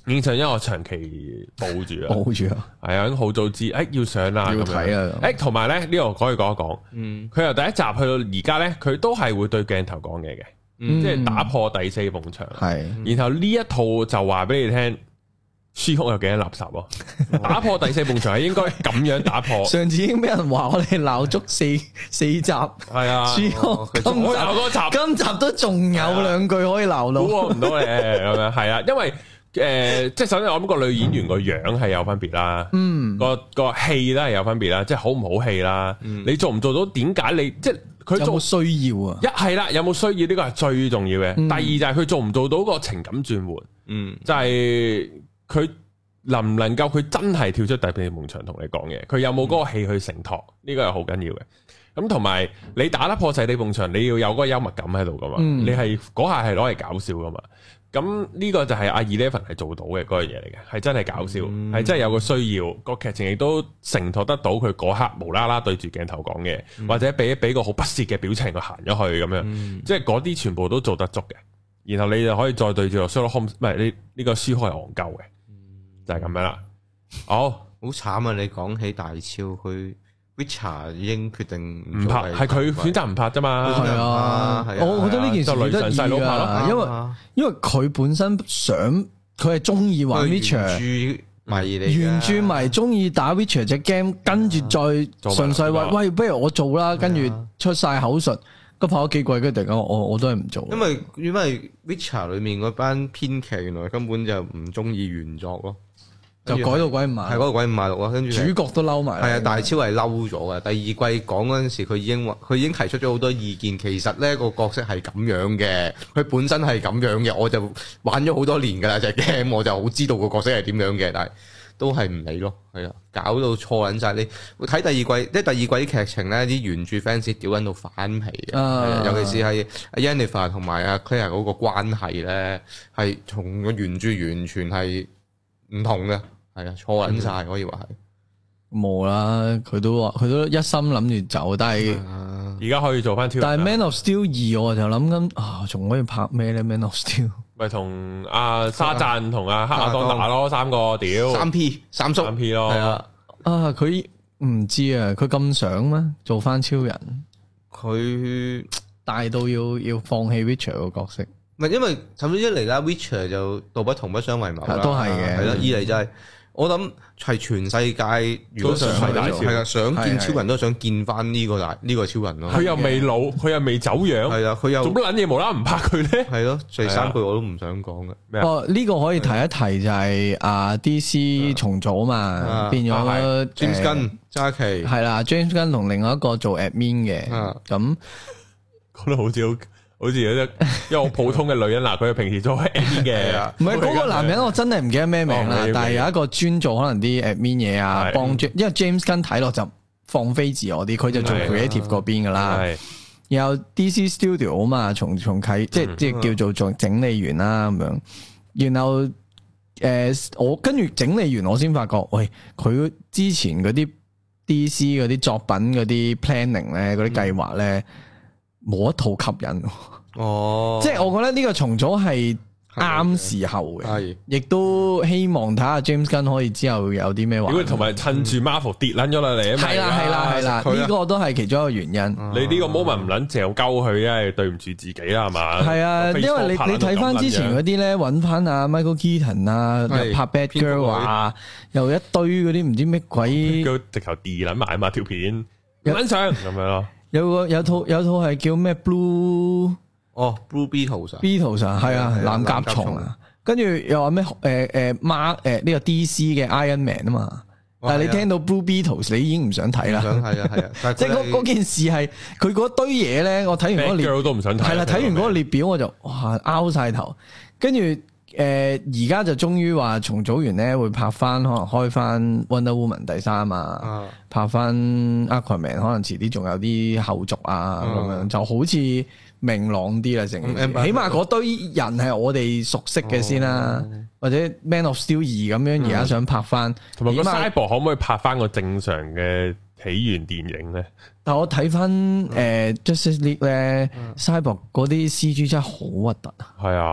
影相因為我長期報住啊， 報住啊， 係啊，好早知，誒要上啦， 要睇啊， 誒同埋咧呢度可以講一講，嗯，佢由第一集去到而家咧，佢都係會對鏡頭講嘢嘅，嗯、即係打破第四埲牆，係、嗯，然後呢一套就話俾你聽。書屋有幾多垃圾咯？打破第四埲牆係應該咁樣打破。上次已經俾人話我哋鬧足四四集，係啊。書屋今集嗰集，今集都仲有兩句可以鬧到。估唔到你咁樣，係啊，因為誒，即係首先我諗個女演員個樣係有分別啦，嗯，個個戲都係有分別啦，即係好唔好戲啦。你做唔做到？點解你即係佢做需要啊？一係啦，有冇需要呢個係最重要嘅。第二就係佢做唔做到個情感轉換，嗯，就係。佢能唔能夠佢真係跳出第四埲牆同你講嘢？佢有冇嗰個戲去承托？呢個係好緊要嘅。咁同埋你打得破第四埲牆，你要有嗰個幽默感喺度噶嘛？嗯、你係嗰下係攞嚟搞笑噶嘛？咁呢個就係阿 Eleven 係做到嘅嗰樣嘢嚟嘅，係真係搞笑，係、嗯、真係有個需要，個劇情亦都承托得到佢嗰刻無啦啦對住鏡頭講嘅，嗯、或者俾俾個好不屑嘅表情佢行咗去咁樣，嗯、即係嗰啲全部都做得足嘅。然後你就可以再對住個 Sherlock Holmes，唔係你呢個書係戇鳩嘅。就係咁樣啦，好，好慘啊！你講起大超，佢 Witcher 已經決定唔拍，係佢選擇唔拍啫嘛。係啊，我覺得呢件事好得意啊，因為因為佢本身想，佢係中意玩 Witcher，迷你原著迷，中意打 Witcher 隻 game，跟住再順勢話，喂，不如我做啦，跟住出晒口述，咁拍咗幾季，跟住突然間我我都係唔做，因為因為 Witcher 裏面嗰班編劇原來根本就唔中意原作咯。就改到鬼五馬，係嗰個鬼五馬六咯，跟住主角都嬲埋。係啊，大超係嬲咗嘅。第二季講嗰陣時，佢已經話，佢已經提出咗好多意見。其實呢個角色係咁樣嘅，佢本身係咁樣嘅。我就玩咗好多年㗎啦，隻 game 我就好知道個角色係點樣嘅，但係都係唔理咯。係啊，搞到錯撚晒。你睇第二季，即係第二季啲劇情咧，啲原著 fans 屌緊到反皮嘅，啊、尤其是係 Yennefer 同埋阿 Claire 嗰個關係咧，係同個原著完全係唔同嘅。係啊，錯撚晒可以話係冇啦，佢都話佢都一心諗住走，但係而家可以做翻超人。但係 Man of Steel 二我就諗緊啊，仲可以拍咩咧 ？Man of Steel 咪同阿沙贊同阿黑亞當打咯，三個屌三 P 三叔三 P 咯，係啊啊佢唔知啊，佢咁想咩做翻超人？佢大到要要放棄 Witcher 個角色，唔係因為首先一嚟啦 ，Witcher 就道不同不相為謀啦，都係嘅，係啦，二嚟就係。我諗係全世界，如果想係啊，想見超人都想見翻呢個大呢個超人咯。佢又未老，佢又未走樣，係啊，佢又做乜撚嘢無啦啦唔拍佢咧？係咯，第三句我都唔想講嘅。哦，呢個可以提一提就係啊 D C 重組嘛，變咗 James Gunn 揸旗係啦 ，James Gunn 同另外一個做 admin 嘅，咁講得好似好。好似有隻一個普通嘅女人嗱，佢平時做 admin 嘅，唔係嗰個男人，我真係唔記得咩名啦。但係有一個專做可能啲 admin 嘢啊，幫，因為 James Gunn 睇落就放飛自我啲，佢就做 creative 嗰邊噶啦。然後 D C Studio 啊嘛，重重啟，即係即係叫做做整理員啦咁樣。然後誒、呃，我跟住整理完，我先發覺，喂，佢之前嗰啲 D C 嗰啲作品嗰啲 planning 咧，嗰啲計劃咧。冇一套吸引哦，即係我覺得呢個重組係啱時候嘅，係亦都希望睇下 James Gunn 可以之後有啲咩話，如果同埋趁住 Marvel 跌撚咗落嚟啊嘛，係啦係啦係啦，呢個都係其中一個原因。你呢個 moment 唔撚嚼鳩佢，因為對唔住自己啦係嘛？係啊，因為你你睇翻之前嗰啲咧，揾翻阿 Michael Keaton 啊，拍 Bad Girl 啊，又一堆嗰啲唔知咩鬼，直頭 D 撚埋啊嘛條片，撚上咁樣咯。有個有套有套係叫咩 Blue 哦 Blue Beetles，Beetles 啊係啊藍甲蟲啊，跟住又話咩誒誒 Mark 誒呢個 D C 嘅 Iron Man 啊嘛，但係你聽到 Blue Beetles 你已經唔想睇啦，想睇啊係啊，即係嗰嗰件事係佢嗰堆嘢咧，我睇完嗰個列都唔想睇，係啦，睇完嗰個列表我就哇拗晒頭，跟住誒而家就終於話重組完咧會拍翻可能開翻 Wonder Woman 第三啊。拍翻 Aquaman 可能遲啲仲有啲後續啊咁樣，就好似明朗啲啦，成起碼嗰堆人係我哋熟悉嘅先啦，或者 Man of Steel 二咁樣而家想拍翻，同埋個 Cyborg 可唔可以拍翻個正常嘅起源電影咧？但我睇翻誒 Justice League 咧 Cyborg 嗰啲 C G 真係好核突啊！係啊，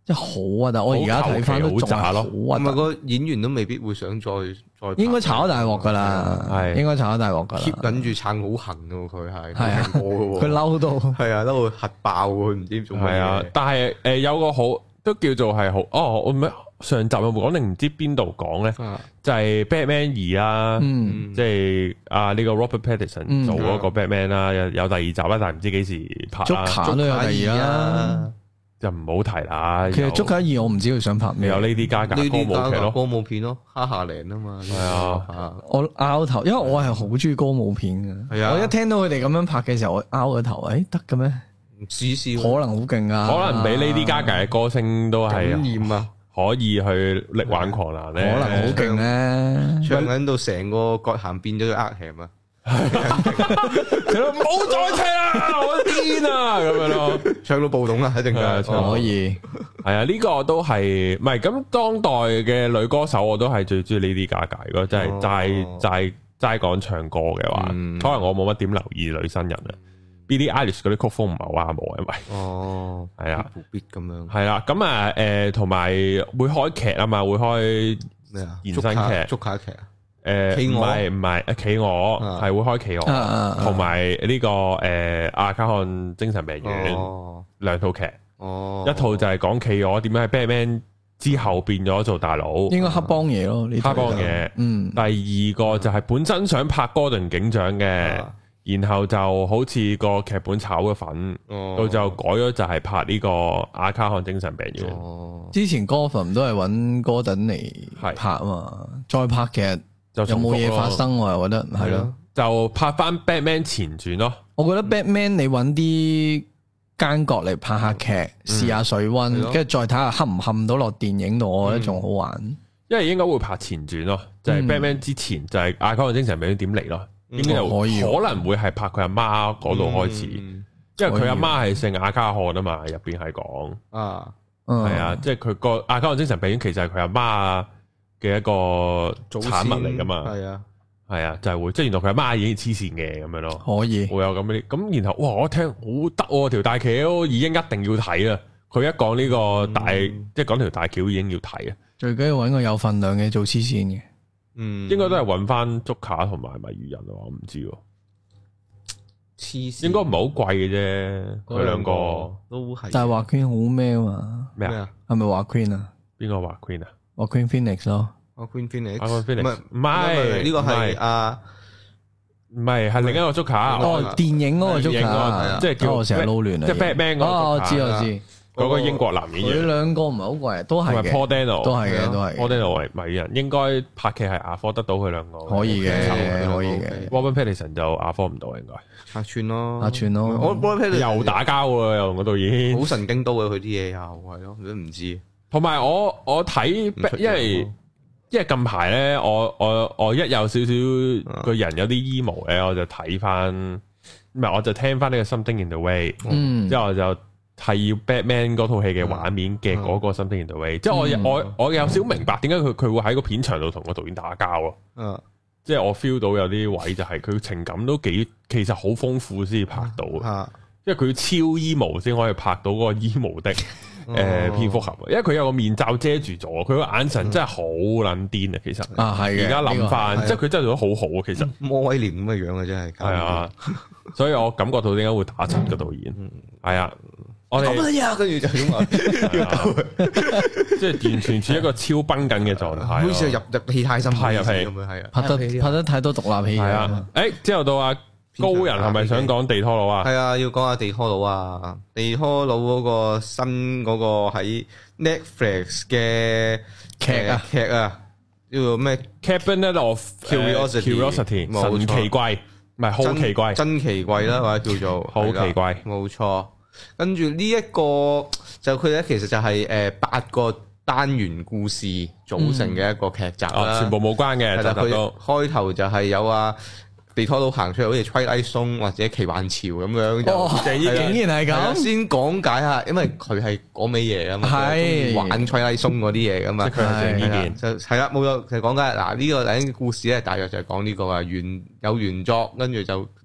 真係好啊！但係我而家睇翻都仲係好啊， 唔係個演員都未必會想再再應該炒大鑊噶啦，係應該炒大鑊噶啦。 keep 緊住撐好行嘅佢係， 係啊，佢嬲到係啊，嬲到核爆佢唔知做咩。係啊， 但係誒有個好都叫做係好哦，我唔係上集有冇講定唔知邊度講咧？就係 Batman 二啦，即係啊呢個 Robert Pattinson 做嗰個 Batman 啦，有有第二集啦，但係唔知幾時拍啦。 Joker 都有第二啦。 就唔好提啦。 其實《捉卡二》我唔知佢想拍咩， 有呢啲加價歌舞劇咯， 歌舞片咯，哈夏玲啊嘛。 係啊， 我拗頭，因為我係好中意歌舞片嘅。係啊，我一聽到佢哋咁樣拍嘅時候，我拗個頭，誒得嘅咩？ 試試， 可能好勁啊！ 可能比呢啲加價嘅歌星都係感染啊， 可以去力挽狂瀾咧。 可能好勁咧， 唱緊到成個葛咸變咗個呃咸啊！ 唔好再聽啦，我癲啊！咁樣咯， 唱到暴動啦，一定係唱可以。 係啊，呢個都係唔係咁當代嘅女歌手，我都係最中意呢啲加價。如果真係齋齋齋講唱歌嘅話，可能我冇乜點留意女新人啊。Billie Eilish 嗰啲曲風唔係好啱我，因為哦， 係啊， 必咁樣係啦。咁啊，誒，同埋會開劇啊嘛，會開咩啊？延伸劇、 捉卡劇啊。 誒，唔係唔係，企鵝係會開企鵝，同埋呢個誒阿卡漢精神病院兩套劇，一套就係講企鵝點樣喺 Batman 之後變咗做大佬， 應該黑幫嘢咯，呢黑幫嘢。嗯，第二個就係本身想拍哥頓警長嘅，然後就好似個劇本炒咗粉，到就改咗就係拍呢個阿卡漢精神病院。 之前 Gotham 都係揾哥頓嚟拍啊嘛，再拍其實。有冇嘢發生？我又覺得係咯， 就拍翻 Batman 前傳咯。 我覺得 Batman 你揾啲奸角嚟拍下劇，試下水溫，跟住再睇下冚唔冚到落電影度，我覺得仲好玩。 因為應該會拍前傳咯，就係 Batman 之前就係阿卡漢精神病院點嚟咯，應該就可以可能會係拍佢阿媽嗰度開始，因為佢阿媽係姓阿卡漢啊嘛，入邊係講啊，係啊，即係佢個阿卡漢精神病院其實係佢阿媽啊。嘅一個產物嚟噶嘛，係啊，係啊，就係會，即係原來佢阿媽已經黐線嘅咁樣咯， 可以會有咁啲，咁然後哇，我聽好得喎，條大橋已經一定要睇啦，佢一講呢個大，即係講條大橋已經要睇啊， 最緊要揾個有份量嘅做黐線嘅， 嗯，應該都係揾翻竹卡同埋謎語人啊，我唔知喎，黐線，應該唔係好貴嘅啫，佢兩個都係， 但係華 Queen 好咩啊嘛， 咩啊？ 係咪華 Queen 啊？ 邊個華 Queen 啊？ 我 Queen Phoenix 咯， 我 Queen Phoenix， 我 Queen Phoenix 唔係呢個係啊， 唔係係另一個 Joker， 哦，電影嗰個 Joker， 即係叫我成日撈亂啊，即係 Batman 嗰個， 哦，我知我知， 嗰個英國男演員， 佢兩個唔係好貴，都係嘅 Paul Dano 都係嘅，都係 Paul Dano 為謎語人，應該拍劇係亞科得到佢兩個， 可以嘅，可以嘅 Robert Pattinson 就亞科唔到應該， 客串咯， 客串咯， 我 Robert Pattinson 又打交喎，又嗰導演， 好神經刀嘅佢啲嘢又係咯，你都唔知。 同埋我我睇，因為因為近排咧，我我我一有少少個人有啲 emo 咧，我就睇翻，唔係我就聽翻呢個 Something in the Way，嗯，之後我就係要 Batman 嗰套戲嘅畫面嘅嗰個 Something in the Way，即係我我我有少明白點解佢佢會喺個片場度同個導演打交咯，嗯，即係我 feel 到有啲位就係佢情感都幾其實好豐富先至拍到，因為佢要超 emo 先可以拍到嗰個 emo 的。誒，蝙蝠俠，因為佢有個面罩遮住咗，佢個眼神真係好撚癲啊！其實啊，係嘅。 而家諗翻，即係佢真係做得好好啊！其實魔威廉咁嘅樣啊，真係。 係啊，所以我感覺到點解會打柒個導演。係啊，我哋跟住就咁話， 即係完全處於一個超繃緊嘅狀態， 好似入入戲太深， 係入戲咁樣，係啊， 拍得拍得太多獨立戲。 係啊，誒，之後到阿高人係咪想講地拖佬啊？ 係啊，要講下地拖佬啊！地拖佬嗰個新嗰個喺 Netflix 嘅劇啊劇啊，叫做咩 ？Cabinet of Curiosity，神奇怪，唔係好奇怪， 真奇怪啦，或者叫做好奇怪， 冇錯。跟住呢一個就佢咧，其實就係誒八個單元故事組成嘅一個劇集啦， 全部冇關嘅。 係啦，佢開頭就係有啊。地拖佬行出嚟，好似 Twilight Zone 或者奇幻潮咁樣， 哦，竟然係咁。 先講解下，因為佢係嗰味嘢啊嘛，係玩 Twilight Zone 嗰啲嘢噶嘛， 佢係呢件就係啦，冇錯，就講解嗱呢個第一個故事咧，大約就係講呢個啊原有原作，跟住就呢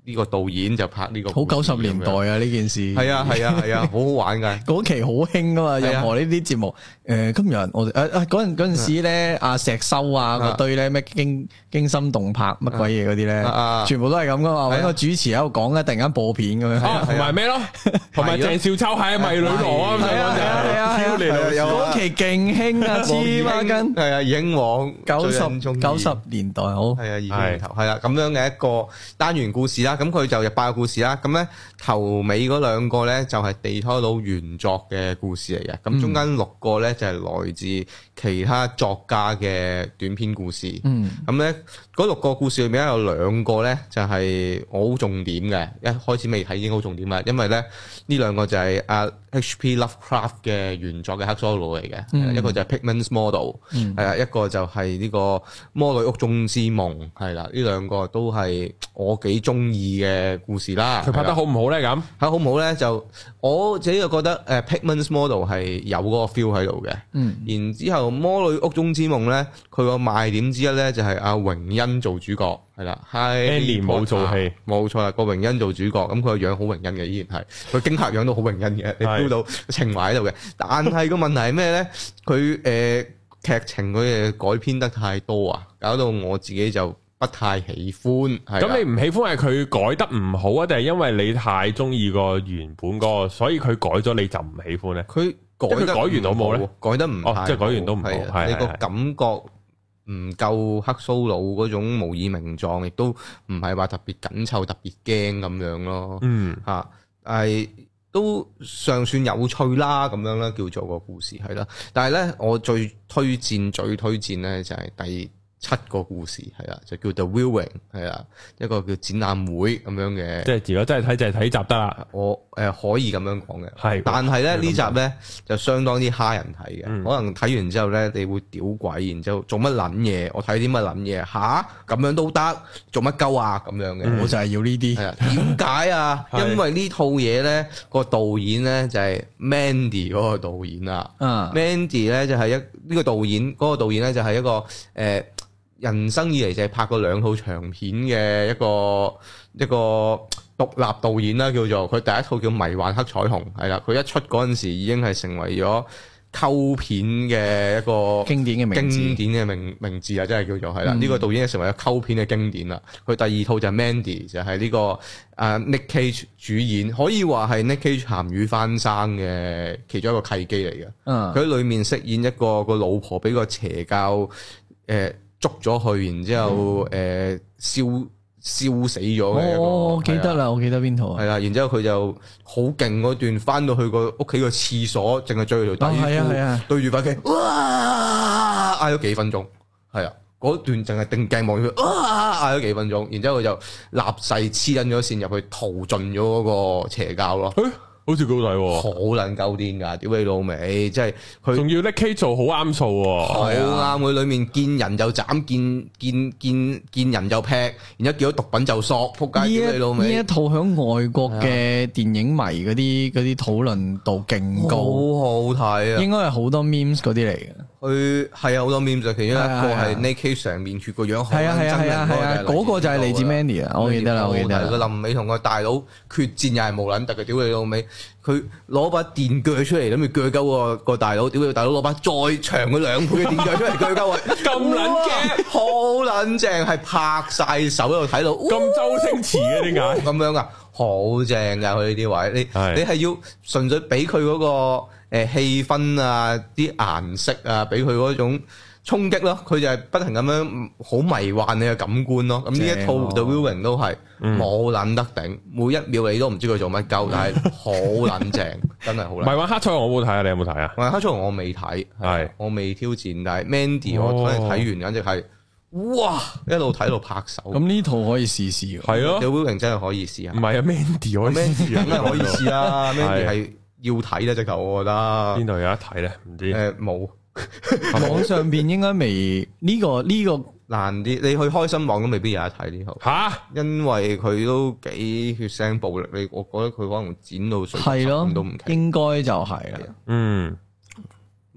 呢個導演就拍呢個好九十年代啊！呢件事係啊係啊係啊，好好玩噶。 嗰期好興噶嘛，任何呢啲節目。誒，今日我哋誒誒嗰陣嗰陣時咧，阿石修啊嗰堆咧咩驚驚心動魄乜鬼嘢嗰啲咧，全部都係咁噶嘛。搵個主持喺度講咧，突然間播片咁樣。 同埋咩咯？同埋鄭少秋係迷女郎啊！ 係啊係啊係啊！嗰期勁興啊，黐孖筋。係啊，英皇九十九十年代好。 係啊，二千年頭係啦，咁樣嘅一個單元故事啦。咁佢就入八個故事啦。咁咧頭尾嗰兩個咧就係地拖佬原作嘅故事嚟嘅。咁中間六個咧就係來自其他作家嘅短篇故事。嗯。咁咧嗰六個故事裏面有兩個咧就係我好重點嘅，一開始未睇已經好重點啦。因為咧呢兩個就係阿 H P Lovecraft 嘅原作嘅克蘇魯嚟嘅。嗯。一個就係 Pigman's Model。嗯。係啊，一個就係呢個魔女屋中之夢。係啦，呢兩個都係我幾中意嘅故事啦。 佢拍得好唔好咧？咁拍好唔好咧？就我自己就覺得誒 Pigman's Model 係有嗰個 feel 喺度嘅。嗯。然之後魔女屋中之夢咧，佢個賣點之一咧就係阿榮恩做主角，係啦。 Annie 冇做戲， 冇錯啦。個榮恩做主角，咁佢個樣好榮恩嘅，依然係佢驚嚇樣都好榮恩嘅，你 feel 到情懷喺度嘅。但係個問題係咩咧？佢誒劇情佢誒改編得太多啊，搞到我自己就不太喜歡。 咁你唔喜歡係佢改得唔好啊，定係因為你太中意個原本嗰個，所以佢改咗你就唔喜歡咧？ 佢改得改完到冇咧？ 改得唔哦，即係改完都唔好。係你個感覺唔夠克蘇魯嗰種無以名狀，亦都唔係話特別緊湊、特別驚咁樣咯。嗯，嚇，係都尚算有趣啦，咁樣啦，叫做個故事係啦。但係咧，我最推薦、最推薦咧就係第七個故事係啦，就叫 The Viewing 係啦，一個叫展覽會咁樣嘅。即係如果真係睇就係睇集得啦。 我誒、呃、可以咁樣講嘅。係。但係咧呢集咧就相當之蝦人睇嘅，嗯、可能睇完之後咧你會屌鬼，然之後做乜撚嘢？我睇啲乜撚嘢吓？咁樣都得？做乜鳩啊？咁樣嘅。 嗯、我就係要呢啲。係啊。 點解啊？因為呢套嘢咧個導演咧就係 Mandy 嗰個導演啊。嗯。Mandy 咧就係一呢、呢個導演嗰、嗰個導演咧就係一個誒。呃人生以嚟就係拍過兩套長片嘅一個一個獨立導演啦，叫做佢第一套叫《迷幻黑彩虹》，係啦，佢一出嗰陣時已經係成為咗溝片嘅一個經典嘅名字， 經典嘅名名字啊，真係叫做係啦。呢、嗯、個導演係成為咗溝片嘅經典啦。佢第二套就係 Mandy，就係呢、這個啊 Nick Cage 主演，可以話係 Nick Cage 鹹魚翻生嘅其中一個契機嚟嘅。嗯，佢喺裏面飾演一個個老婆俾個邪教誒。呃捉咗去，然之後誒燒燒死咗嘅一個。 哦，我記得啦，我記得邊套啊？ 係啦，然之後佢就好勁嗰段，翻到去個屋企個廁所，淨係着佢條底褲，對住塊鏡，哇！嗌咗幾分鐘，係啊，嗰段淨係定鏡望住佢，哇！嗌咗幾分鐘，然之後佢就立誓黐緊咗線入去逃盡咗嗰個邪教咯。 好似幾好睇喎， 好撚鳩癲噶，屌你老味，即係佢仲要 Nick Cage 做好啱數喎， 好啱佢裏面見人就斬，見見見見人就劈，然之後見到毒品就索，撲街屌你老味。 呢一套響外國嘅電影迷嗰啲嗰啲討論度勁高， 好好睇啊！ 應該係好多 memes 嗰啲嚟嘅。 佢係有好多 memes，其中一個係 Nick Cage 成面血個樣， 係啊係啊係啊係啊，嗰個就係嚟自 Mandy 啊，我記得啦，我記得。 佢臨尾同個大佬決戰又係無撚特嘅，屌你老味。佢攞把電鋸出嚟，諗住鋸鳩個個大佬，屌你大佬攞把再長嘅兩倍嘅電鋸出嚟鋸鳩佢，咁撚嘅，好撚正，係拍晒手喺度睇到， 咁周星馳嘅點解咁樣啊？好正噶佢呢啲位，你你係要純粹俾佢嗰個誒氣氛啊，啲顏色啊，俾佢嗰種衝擊咯，佢就係不停咁樣好迷幻你嘅感官咯。咁呢一套 The Viewing 都係冇撚得頂，每一秒你都唔知佢做乜鳩，但係好撚正，真係好撚。 迷幻黑彩虹我冇睇啊，你有冇睇啊？ 迷幻黑彩虹我未睇，係我未挑戰，但係 Mandy 我睇睇完，簡直係哇，一路睇一路拍手。 咁呢套可以試試， 係咯 The Viewing 真係可以試下。 唔係啊 Mandy 可以試啊， 梗係可以試啊 Mandy 係要睇咧，直頭我覺得。 邊度有得睇咧？唔知誒冇。 網上邊應該未呢個呢個難啲，你去開心網都未必有得睇呢套吓，因為佢都幾血腥暴力，你我覺得佢可能剪到水咁都唔奇， 應該就係啦， 嗯，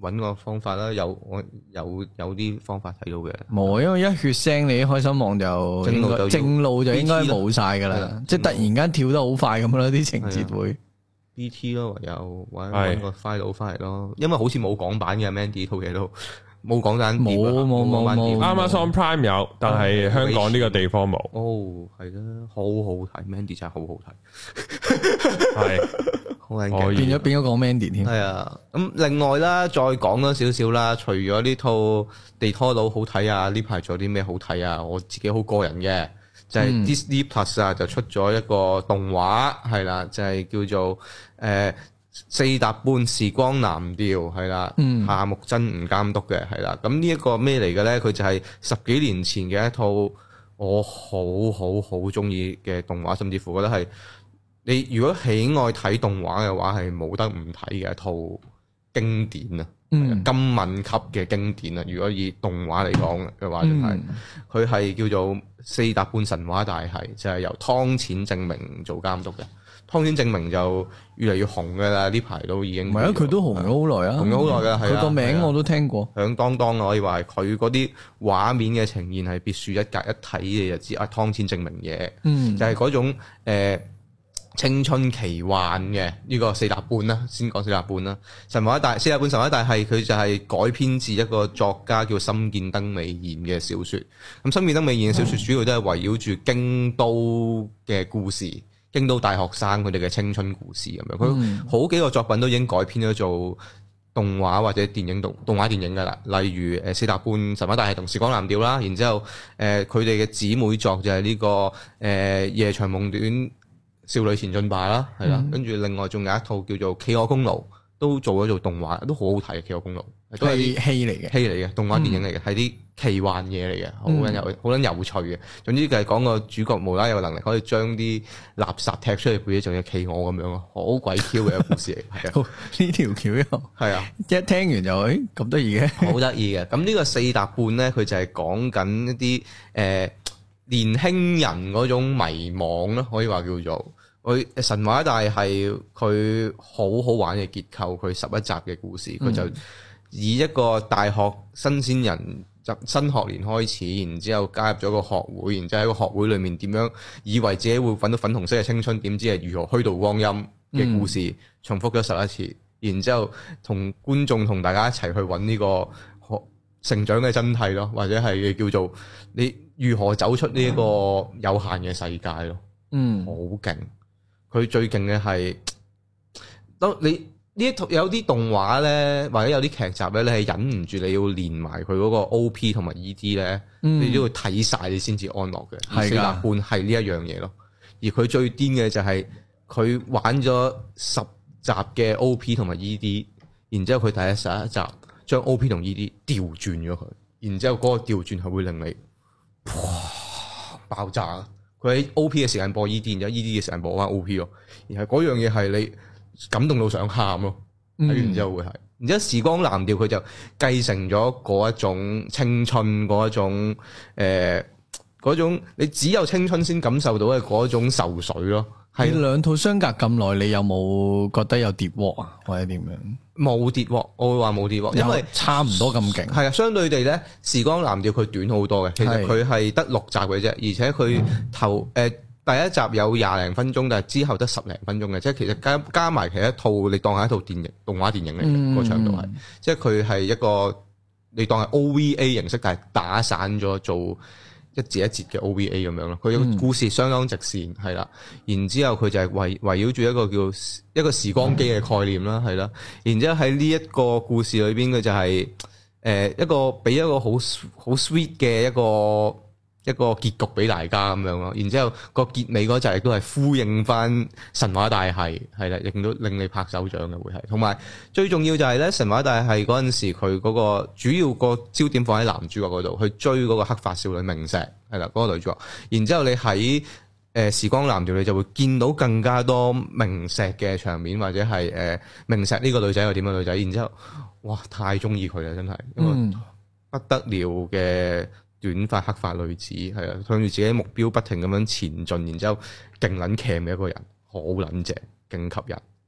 揾個方法啦，有我有有啲方法睇到嘅。 冇，因為一血腥你開心網就正路就正路就應該冇晒噶啦，即係突然間跳得好快咁咯，啲情節會 B T 咯，唯有揾揾個 file 翻嚟咯，因為好似冇港版嘅 Mandy 套嘢都。冇講緊冇冇冇冇 Amazon Prime 有，但係香港呢個地方冇。 哦，係啦，好好睇 Mandy 真係好好睇，係好靚嘅， 變咗變咗講 Mandy 添。 係啊，咁另外啦，再講多少少啦，除咗呢套地拖佬好睇啊，呢排仲有啲咩好睇啊？我自己好個人嘅，就係、是、Disney Plus 啊，就出咗一個動畫，係啦，就係、是、叫做誒。呃四疊半時光藍調係啦，夏目真吾監督嘅係啦，咁呢一個咩嚟嘅咧？佢就係十幾年前嘅一套我好好好中意嘅動畫，甚至乎覺得係你如果喜愛睇動畫嘅話，係冇得唔睇嘅一套經典啊，嗯、金敏級嘅經典啊！如果以動畫嚟講嘅話，就係佢係叫做四疊半神話大系，就係、是、由湯淺政明做監督嘅。湯淺政明就越嚟越紅嘅啦，呢排都已經唔係啊！佢都紅咗好耐啊，紅咗好耐嘅，佢個名我都聽過，響當當可以話係佢嗰啲畫面嘅呈現係別樹一格，一睇你就知啊湯淺政明嘢，嗯，就係嗰種誒、呃、青春奇幻嘅呢、這個四疊半啦，先講四疊半啦，神話大四疊半神話大系佢就係改編自一個作家叫森見登美彥嘅小説，咁森見登美彥嘅小説主要都係圍繞住京都嘅故事。京都大學生佢哋嘅青春故事咁樣，佢好幾個作品都已經改編咗做動畫或者電影動動畫電影噶啦，例如誒四疊半神話大系同時光藍調啦，然之後誒佢哋嘅姊妹作就係呢、這個誒、呃、夜長夢短少女前進吧啦，係啦，跟住、嗯、另外仲有一套叫做企鵝公路，都做咗做動畫，都好好睇嘅企鵝公路，都係戲嚟嘅，戲嚟嘅動畫電影嚟嘅，係啲、嗯、奇幻嘢嚟嘅，好撚有好撚有趣嘅。總之就係講個主角無啦有能力可以將啲垃圾踢出去，背咗仲有企鵝咁樣咯，好鬼 Q 嘅一個故事嚟。係啊，呢條橋又係啊，一聽完就誒咁得意嘅，好得意嘅。咁呢個四疊半咧，佢就係講緊一啲誒、呃、年輕人嗰種迷惘咯，可以話叫做。佢神話大係佢好好玩嘅結構，佢十一集嘅故事，佢就以一個大學新鮮人入新學年開始，然之後加入咗個學會，然之後喺個學會裏面點樣以為自己會揾到粉紅色嘅青春，點知係如何虛度光陰嘅故事，嗯、重複咗十一次，然之後同觀眾同大家一齊去揾呢個學成長嘅真諦咯，或者係叫做你如何走出呢一個有限嘅世界咯，嗯，好勁。佢最勁嘅係，當你呢一套有啲動畫咧，或者有啲劇集咧，你係忍唔住你要連埋佢嗰個 O P 同埋 E D 咧，嗯、你都要睇晒你先至安樂嘅。係四疊半係呢一樣嘢咯。而佢最癲嘅就係佢玩咗十集嘅 O P 同埋 E D， 然之後佢第一十一集將 O P 同 E D 調轉咗佢，然之後嗰個調轉係會令你哇爆炸。佢喺 O P 嘅時間播 E D， 然之後 E D 嘅時間播翻 O P 咯，然後嗰樣嘢係你感動到想喊咯，睇完之後會係，然之後時光藍調佢就繼承咗嗰一種青春嗰一種誒嗰、呃、種你只有青春先感受到嘅嗰種受水咯。係兩套相隔咁耐，你有冇覺得有跌鑊啊，或者點樣？冇跌鑊，我會話冇跌鑊，因為差唔多咁勁。係啊，相對地咧，時光藍調佢短好多嘅，其實佢係得六集嘅啫，而且佢頭誒、呃、第一集有廿零分鐘，但係之後得十零分鐘嘅，即係其實加加埋其實一套你當係一套電影動畫電影嚟嘅個長度係，即係佢係一個你當係 O V A 形式，但係打散咗做一節一節嘅 O V A 咁樣咯，佢個故事相當直線，係啦、嗯。然之後佢就係圍圍繞住一個叫一個時光機嘅概念啦，係啦。然之後喺呢一個故事裏邊，佢就係、是、誒、呃、一個俾一個好好 sweet 嘅一個一個結局俾大家咁樣咯。然之後個結尾嗰集亦都係呼應翻神話大系，係啦，亦都令你拍手掌嘅會係。同埋最重要就係咧，神話大系嗰陣時佢嗰個主要個焦點放喺男主角嗰度，去追嗰個黑髮少女明石，係啦，嗰個女主角。然之後你喺誒時光藍調，你就會見到更加多明石嘅場面，或者係誒明石呢個女仔係點樣女仔。然之後哇，太中意佢啦，真係，因為不得了嘅。短髮黑髮女子係啊，向住自己目標不停咁樣前進，然之後勁撚 cam 嘅一個人，好撚正，勁吸引，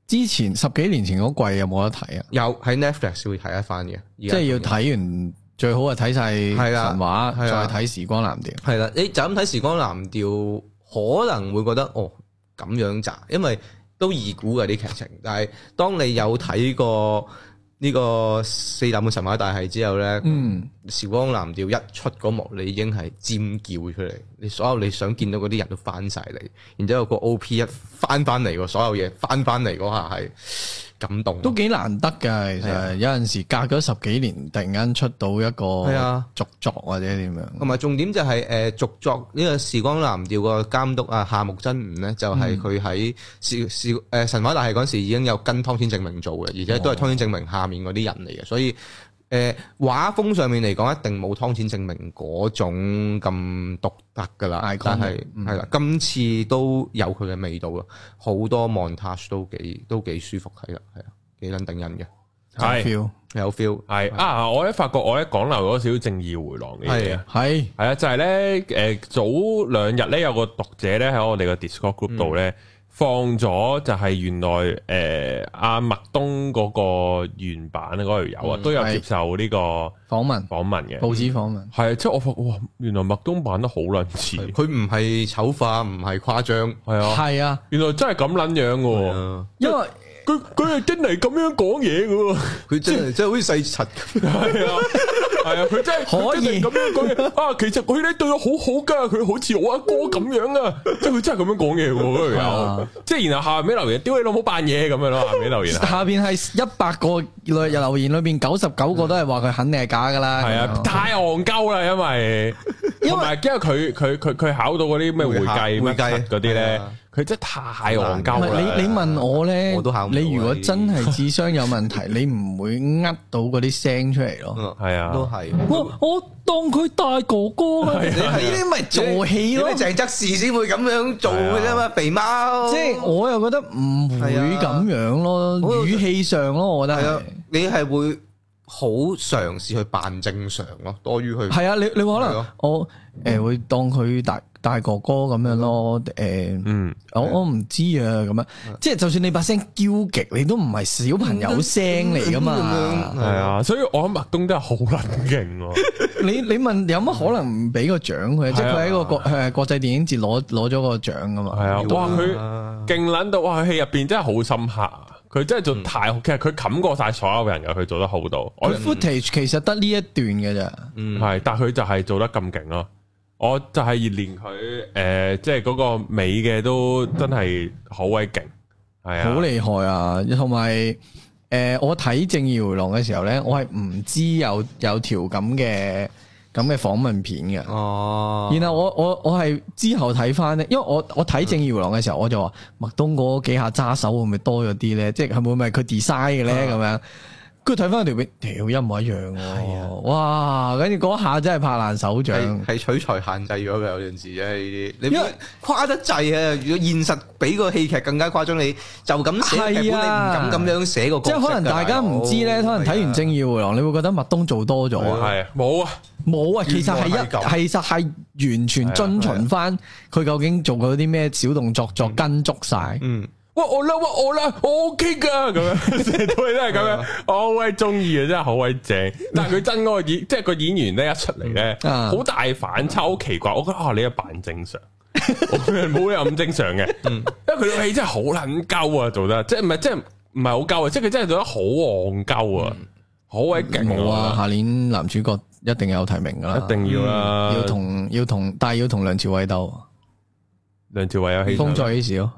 之前十幾年前嗰季有冇得睇啊？ 有喺 Netflix 會睇一翻嘅， 即係要睇完最好係睇晒神話，再睇時光藍調。 係啦，你就咁睇時光藍調，可能會覺得哦咁樣咋，因為都易估嘅啲劇情。但係當你有睇過呢個四大本神話大系之後咧，嗯，時光藍調一出嗰幕，你已經係尖叫出嚟，你所有你想見到嗰啲人都翻晒嚟，然之後個 O P 一翻翻嚟，所有嘢翻翻嚟嗰下係感動， 都幾難得㗎。其實、啊、有陣時隔咗十幾年，突然間出到一個續作或者點樣， 同埋、啊、重點就係誒續作呢個時光藍調個監督啊夏目真吾咧，就係佢喺時時誒神話大系嗰時已經有跟湯淺政明做嘅，而且都係湯淺政明下面嗰啲人嚟嘅，所以誒畫、呃、風上面嚟講一定冇湯淺政明嗰種咁獨特噶啦，但係係啦，今次都有佢嘅味道咯，好多 montage 都幾都幾舒服睇啦，係啊，幾撚頂人嘅， 係有 feel 係啊！我一發覺我一講漏咗少少正義迴廊嘅嘢， 係係啊，就係咧誒早兩日咧有個讀者咧喺我哋個 Discord group 度咧。嗯放咗就係原來誒阿麥東嗰個原版嗰條友啊，都有接受呢個訪問訪問嘅報紙訪問，係啊，即係我發覺哇，原來麥東版得好撚似， 佢唔係醜化，唔係誇張， 係啊， 係啊， 原來真係咁撚樣嘅，因為佢佢係真係咁樣講嘢嘅，佢真係真係好似細柒咁，係啊。係啊，佢真係可以咁樣講嘢啊！其實佢咧對我好好噶，佢好似我阿哥咁樣啊！即係佢真係咁樣講嘢喎，嗰條友。即係然後下邊留言，屌你老母扮嘢咁樣咯，下邊留言。下邊係一百個留言裏邊九十九個都係話佢肯定係假噶啦。係啊，太戇鳩啦，因為同埋因為佢佢佢佢考到嗰啲咩會計會計嗰啲咧。佢真係太戇鳩啦！ 你你問我咧， 我都考唔到。 你如果真係智商有問題，你唔會呃到嗰啲聲出嚟咯。 係啊， 都係。 我我當佢大哥哥啊！你呢啲咪做戲咯？ 鄭則仕先會咁樣做嘅啫嘛，肥貓。 即係我又覺得唔會咁樣咯，語氣上咯，我覺得係。 你係會好嘗試去扮正常咯，多於去。係啊，你你可能我誒會當佢大。大哥哥咁樣咯，誒、呃，嗯，我我唔知啊，咁樣，即係就算你把聲嬌極，你都唔係小朋友聲嚟噶嘛， 係啊，所以我諗麥東真係好撚勁。 你你問有乜可能唔俾個獎佢？即係佢喺個國誒國際電影節攞攞咗個獎噶嘛？係啊， 哇，佢勁撚到，哇，佢戲入邊真係好深刻啊！佢真係做太，其實佢冚過晒所有人嘅，佢做得好到。我 footage 其實得呢一段嘅咋， 嗯，係，但係佢就係做得咁勁咯。我就係連佢誒，即係嗰個尾嘅都真係好鬼勁，係啊， 好厲害啊！同埋誒，我睇《正義迴廊》嘅時候咧，我係唔知有有條咁嘅咁嘅訪問片嘅。哦，然後我我我係之後睇翻咧，因為我我睇《正義迴廊》嘅時候，我就話麥東嗰幾下揸手會唔會多咗啲咧？即係係會唔會佢 design 嘅咧？咁樣。跟住睇翻條片，條一模一樣喎！係啊，哇！跟住嗰下真係拍爛手掌， 係取材限制咗嘅有陣時啫呢啲，你誇得滯啊！如果現實比個戲劇更加誇張，你就咁寫劇本，你唔敢咁樣寫個角色。即係可能大家唔知咧，可能睇完《正義迴廊》，你會覺得麥東做多咗啊？ 係冇啊，冇啊！ 其實係一，其實係完全遵循翻佢究竟做過啲咩小動作，作跟足晒。嗯。 哇我啦，哇我啦，我 OK 噶，咁樣成套戲都係咁樣，我好鬼中意啊，真係好鬼正。但係佢真嗰個演，即係個演員咧一出嚟咧，好大反差，好奇怪。我覺得啊，你一扮正常，冇人咁正常嘅，因為佢套戲真係好撚鳩啊，做得即係唔係即係唔係好鳩啊，即係佢真係做得好戇鳩啊，好鬼勁。 冇啊，下年男主角一定有提名噶啦， 一定要啦， 要同要同，但係要同梁朝偉鬥。 梁朝偉有戲， 風再起時咯。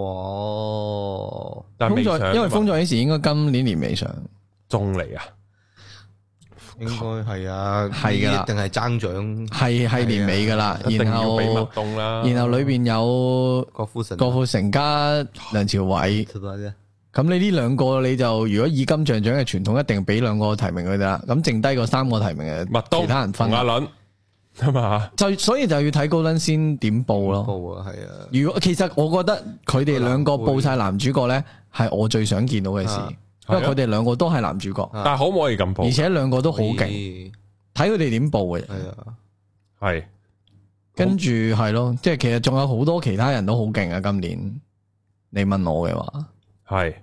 哇！ 但係未上， 因為風再起時應該今年年尾上， 仲嚟啊？ 應該係啊， 係噶啦， 定係爭獎？ 係係年尾噶啦，然後俾麥東啦， 然後裏邊有郭富城、 郭富城加梁朝偉。咁你呢兩個你就如果以金像獎嘅傳統，一定俾兩個提名佢哋啦。咁剩低個三個提名嘅麥東， 其他人分阿倫。係嘛？ 就所以就要睇高登先點報咯。 報啊，係啊。 如果其實我覺得佢哋兩個報晒男主角咧，係我最想見到嘅事，因為佢哋兩個都係男主角。 但係可唔可以咁報？ 而且兩個都好勁，睇佢哋點報嘅。 係啊， 係。 跟住係咯，即係其實仲有好多其他人都好勁啊！今年你問我嘅話， 係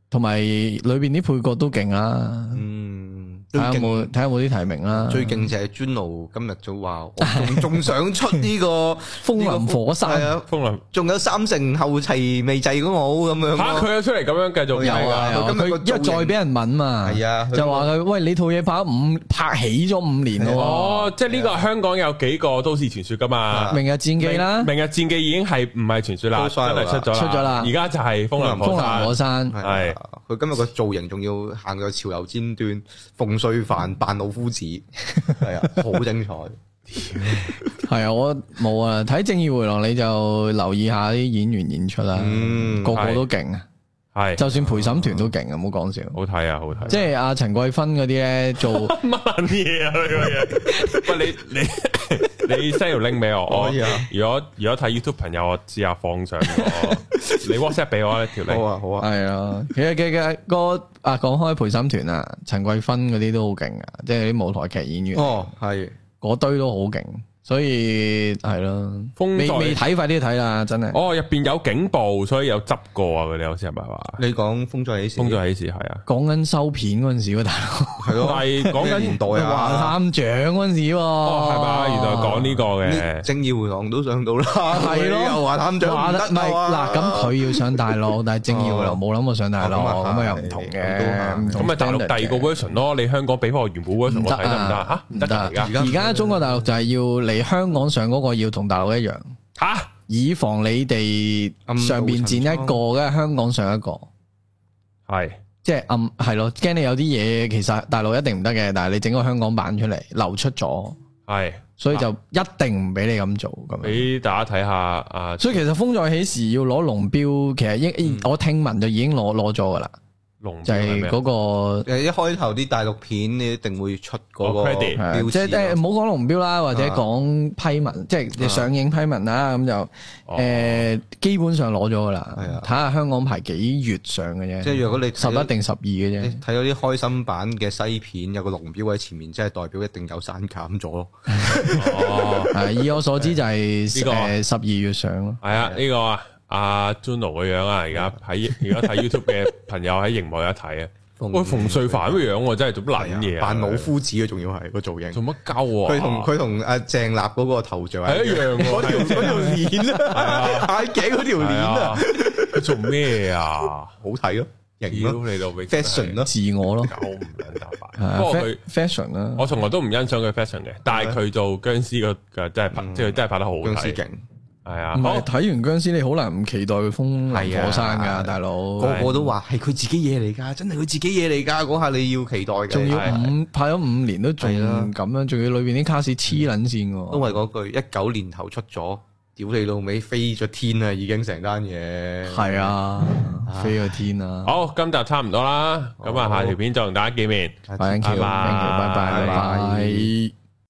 同埋裏邊啲配角都勁啦。 嗯， 睇下有冇睇下有冇啲提名啦。 最勁就係 Juno 今日早話，我仲仲想出呢個風林火山啊， 風林， 仲有三成後期未製嗰我咁樣。嚇佢有出嚟咁樣繼續有啊，佢因為再俾人問嘛， 係啊， 就話佢喂你套嘢拍五拍起咗五年咯。 哦，即係呢個香港有幾個都市傳說噶嘛？ 明日戰記啦， 明日戰記已經係唔係傳說啦，真係出咗出咗啦。而家就係風林風林火山， 係佢今日個造型仲要行到潮流尖端，馮淬帆扮老夫子，係啊，好精彩。 係啊，我冇啊，睇《正義回廊》你就留意下啲演員演出啦，嗯、個個都勁啊，係，就算陪審團都勁啊，唔好講笑， 好睇啊，好睇， 即係阿陳桂芬嗰啲咧做乜嘢啊？呢個嘢，喂你你你 send 條 link 俾我，我如果如果睇 YouTube 朋友，我試下放上，你 WhatsApp 俾我呢條 link， 好啊好啊， 係啊，其實嘅嘅個啊講開陪審團啊，陳桂芬嗰啲都好勁啊，即係啲舞台劇演員， 哦係。 嗰堆都好勁，所以係咯，未未睇快啲睇啦，真係。 哦，入邊有警報，所以有執過啊！佢哋好似係咪話？ 你講風再起時， 風再起時係啊， 講緊收片嗰陣時喎，大佬係咯， 係講緊年代啊， 華探長嗰陣時喎， 係嘛？原來講呢個嘅正義回廊都上到啦， 係咯， 又華探長唔得啊！ 嗱，咁佢要上大陸，但係正義回廊冇諗過上大陸，咁啊又唔同嘅， 咁咪大陸第二個 version 咯。你香港俾翻我原本 version 我睇得唔得嚇？唔得而家而家中國大陸就係要嚟香港上嗰個要同大陸一樣吓，以防你哋上邊剪一個嘅，香港上一個係，即係暗係咯，驚你有啲嘢其實大陸一定唔得嘅，但係你整個香港版出嚟流出咗，係，所以就一定唔俾你咁做咁。俾大家睇下啊！所以其實風再起時要攞龍標，其實應我聽聞就已經攞攞咗噶啦。就係嗰個誒，一開頭啲大陸片你一定會出嗰個標誌，即係誒，唔好講龍標啦，或者講批文，即係上映批文啦，咁就誒，基本上攞咗噶啦。係啊，睇下香港排幾月上嘅啫。即係如果你十一定十二嘅啫，睇到啲開心版嘅西片有個龍標喺前面，即係代表一定有刪減咗咯。哦，係以我所知就係誒十二月上咯。係啊，呢個啊。阿 Juno 個樣啊，而家喺而家睇 YouTube 嘅朋友喺熒幕有得睇啊！喂，馮淬帆個樣真係做乜撚嘢啊？扮老夫子啊，仲要係個造型，做乜鳩啊？佢同佢同阿鄭立嗰個頭像係一樣，嗰條嗰條鏈啊，眼鏡嗰條鏈啊，佢做咩啊？好睇咯，型咯，嚟到 fashion 咯，自我咯，我唔撚打扮。不過佢 fashion 啦，我從來都唔欣賞佢 fashion 嘅，但係佢做僵屍個嘅真係拍，即係真係拍得好好睇，勁。係啊，唔係睇完僵屍你好難唔期待佢風林火山噶，大佬個個都話係佢自己嘢嚟噶，真係佢自己嘢嚟噶，嗰下你要期待嘅。仲要五拍咗五年都仲咁樣，仲要裏邊啲卡士黐撚線嘅。因為嗰句一九年頭出咗，屌你老味飛咗天啊，已經成單嘢。係啊，飛咗天啊！好，今集差唔多啦，咁啊下條片再同大家見面，拜拜，拜拜。